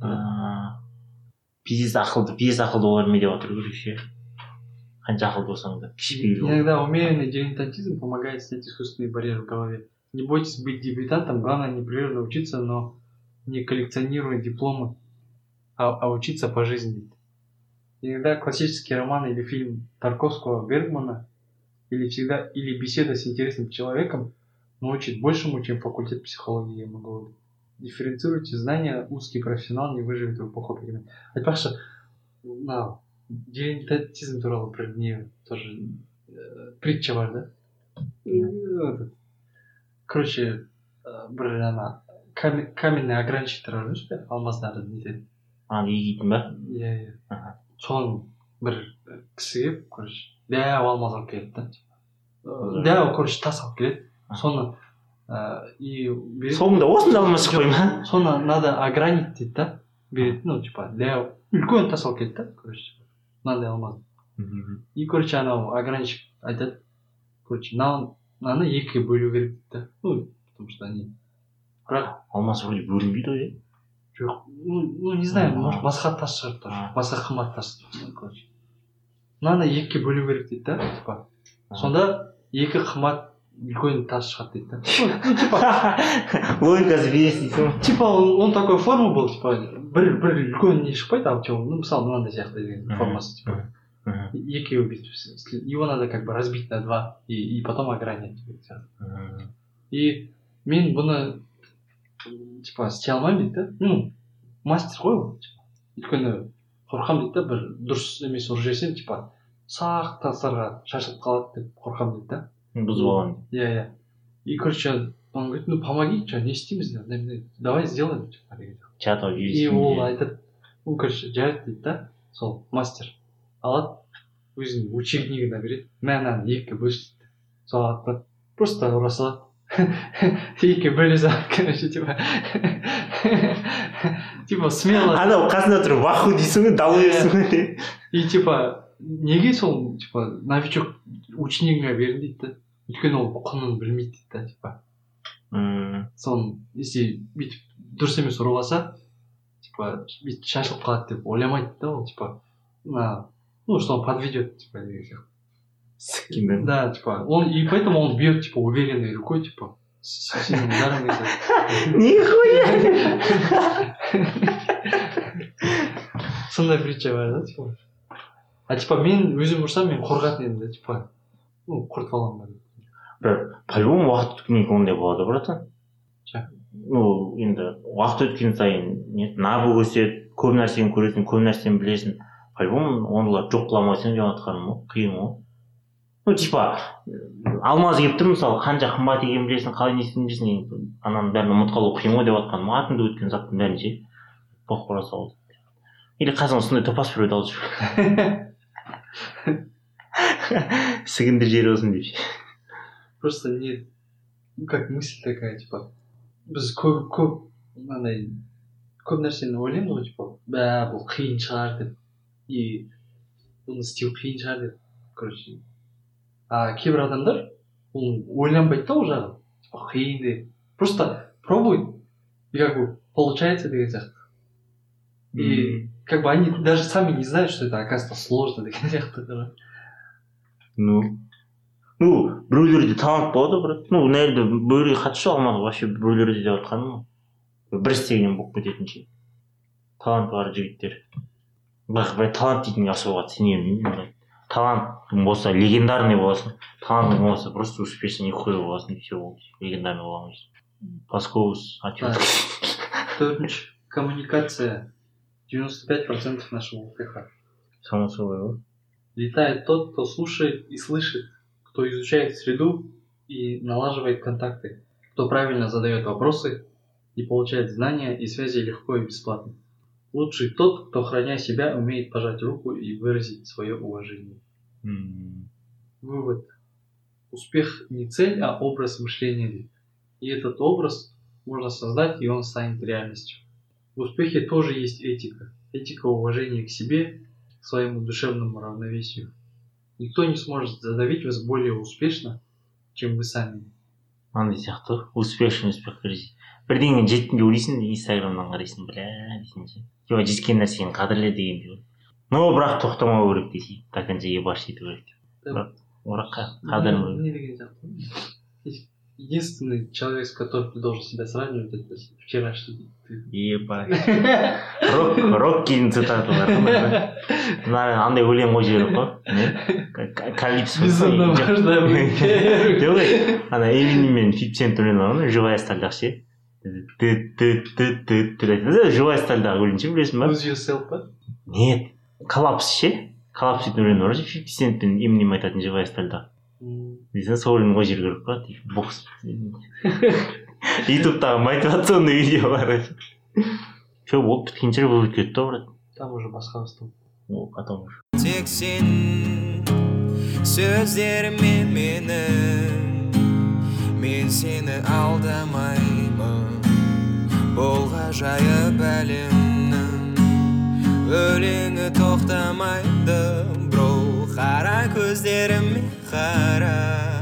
Пиздец ақылды, пиздец ақылды олар ме деп отыр көруші. Қанша ақылды болсаң да кішіпейіл бол. Иногда умеренный дилетантизм помогает снять искусственные барьеры в голове. Не бойтесь быть дебютантом, главное непрерывно учиться, но не коллекционируя дипломы, а, а учиться по жизни. Иногда классический роман или фильм Тарковского, Бергмана или всегда или беседа с интересным человеком научит большему, чем факультет психологии, я могу говорить. Дифференцируйте знания, узкий профессионал не выживет в эпоху перемен. Айтпақшы, мынау дилетантизм туралы бір не тоже э, притча бар, да? Yeah. Короче, бір ана каменный ограничитель бар емес пе, алмаздарды нетеді. А, егейтін ба? Иә, иә. Соның бір кісі келіп, короче, дәу алмаз алып келеді да. Дәу, короче, тас алып келеді. Соны и береді. Соңында осында алмаз шықпай ма? Соны надо огранить дейді да. Береді, ну, типа, дәу, үлкен тас алып келеді да, короче, мынандай алмаз. И, короче, анау ограничик айтады, короче, мынаны екі бөлу керек дейді да. Ну, потому что они... Бірақ... Алмаз вроде бөлінбейді ғой, е? Жоқ, ну, не знаю, может, басқа тас шығар тоже. Басқа қымбат тас, короче. Мынаны екіге бөлу керек дейді да, типа. Сонда екі қымбат үлкен тас шығады дейді да. Ну, типа... Логикасы бес дейсің ғой. Типа, он такой форма был, типа, бір бір үлкен не шықпайды, а ну, мысалы, мынандай сияқты деген формасы, типа. Екеуі бүйтіп, его надо как бы разбить на два и, и потом огранять. И мен бұны типа істей алмаймын дейді да. Ну, мастер ғой ол, типа. Өйткені қорқамын дейді да, бір дұрыс емес ұрып жіберсем, типа, сақ тастарға шашылып қалады деп қорқамын дейді да. Бұзып аламын. Иә, иә. И, короче, он говорит, ну помоги, что, не істейміз, давай сделаем, типа, деген. Чатау жүйесінде. И ол айтады, ну, короче, жарайды дейді да, сол мастер алады, өзінің учебнигін береді, мынаны екіге бөлші дейді. Сол алады, просто ұра салады. Екіге бөле салады, короче, типа. Типа, смело. Анау қасында тұрып, ваху дейсің ғой, дау ерсің ғой. И, типа, неге сол, типа, новичок ученигіңе берін дейді да. Өйткені ол құнын білмейді дейді да, типа. Соны, если бүйтіп дұрыс емес ұрыласа, типа, бүйтіп шашылып қалады деп ойламайды да ол, типа, на, ну, что он подведет, типа, деген сияқты. Скинен. Да, типа, он, и поэтому он бьет, типа, уверенной рукой, типа, с сильным ударом. Нихуя! Сондай притча бар, да, типа. А, типа, мен өзім ұрсам, мен қорқатын едім да, типа, ну, құртып аламын ба. Бір, по-любому уақыт өткеннен кейін ондай болады, братан. Ну, енді, уақыт өткен сайын набу өседі, көп нәрсені көресің, көп нәрсені білесің. По-любому ондайлар жоқ қыламасың деп жатқаным ғой, қиын ғой. Ну, типа, алмаз келіп тұр, мысалы, қанша қымбат екенін білесің, қалай не істейтінін білесің, ананың бәрін ұмытып қалу қиын ғой деп жатқаным, атында өткен заттың бәрін ше, боқ қора салды. Или қасыңа сондай топас біреуді алып жүр. Сігіндір жері болсын деп ше. Просто не, ну, как мысль такая, типа, біз көп, көп, мынандай, көп нәрсені ойлаймыз ғой, типа, бә, бұл қиын шығар деп, и бұны істеу қиын шығар деп, короче. А кейбір адамдар, ол ойланбайды да ол жағын, типа, қиын деп, просто пробует, и как бы получается деген сияқты. И как бы они даже сами не знают, что это оказывается сложно деген сияқты. Ну, ну, біреулерде талант болады, брат. Ну, наверное, біреулерге қатысы жоқ, алмады вообще біреулерде деп жатқаным ғой. бір істеген болып кететін ше. Таланты бар жігіттер. Бірақ бір талант дейтінге особо сенемін мен. Талантың болса легендарный боласың, талантың болса просто успешный нихуя боласың, и все болды. Легендарный боламыз. Паскоус, ответ. Төртінші. Коммуникация. девяносто пять процентов нашего успеха. Само собой, да? Летает тот, кто слушает и слышит, кто изучает среду и налаживает контакты, кто правильно задает вопросы и получает знания и связи легко и бесплатно. Лучший тот, кто, храня себя, умеет пожать руку и выразить свое уважение. Mm. Вывод. Успех не цель, а образ мышления. И этот образ можно создать, и он станет реальностью. В успехе тоже есть этика. Этика уважения к себе, к своему душевному равновесию. Никто не сможет задавить вас более успешно, чем вы сами. Андай сияқты успешный успех көресің. Бірдеңе жеттің деп ойлайсың, инстаграмнан қарайсың, бля дейсің ше. Жоқ, жеткен нәрсені қадірле дегендей. Но бірақ тоқтамау керек дейсің. До конца ебаш ету керек деп. Бірақ ораққа қадірін. Не деген сияқты. Единственный человек, с которым ты должен себя сравнивать, это вчерашний ты. Ебать. Рок, рок кейін цитаталар. Андай өлең қойып жіберіп қой. Калипсо. Безумно важно быть. Жоқ, ана Эминем мен фифти Цент өлең алған, живая стальдағы ше. Живая стальдағы өлең ше, білесің ба? Lose yourself, ба? Нет. Коллапс ше. Коллапс дейтін өлең бар же, фифти Цент пен Эминем айтатын живая стальда. Дейсің, сол өлең қойып жіберіп керек па? Бокс. Ютубтағы мотивационный видео бар. Че, болып біткенше болып кетті, брат. Там уже басқа бастау. О, потом уже. Тек сен сөздеріме менің, мен сені алдамаймын. Бұл ғажайып әлемнің өлеңі тоқтамайды, бро. Қара көздеріме қара.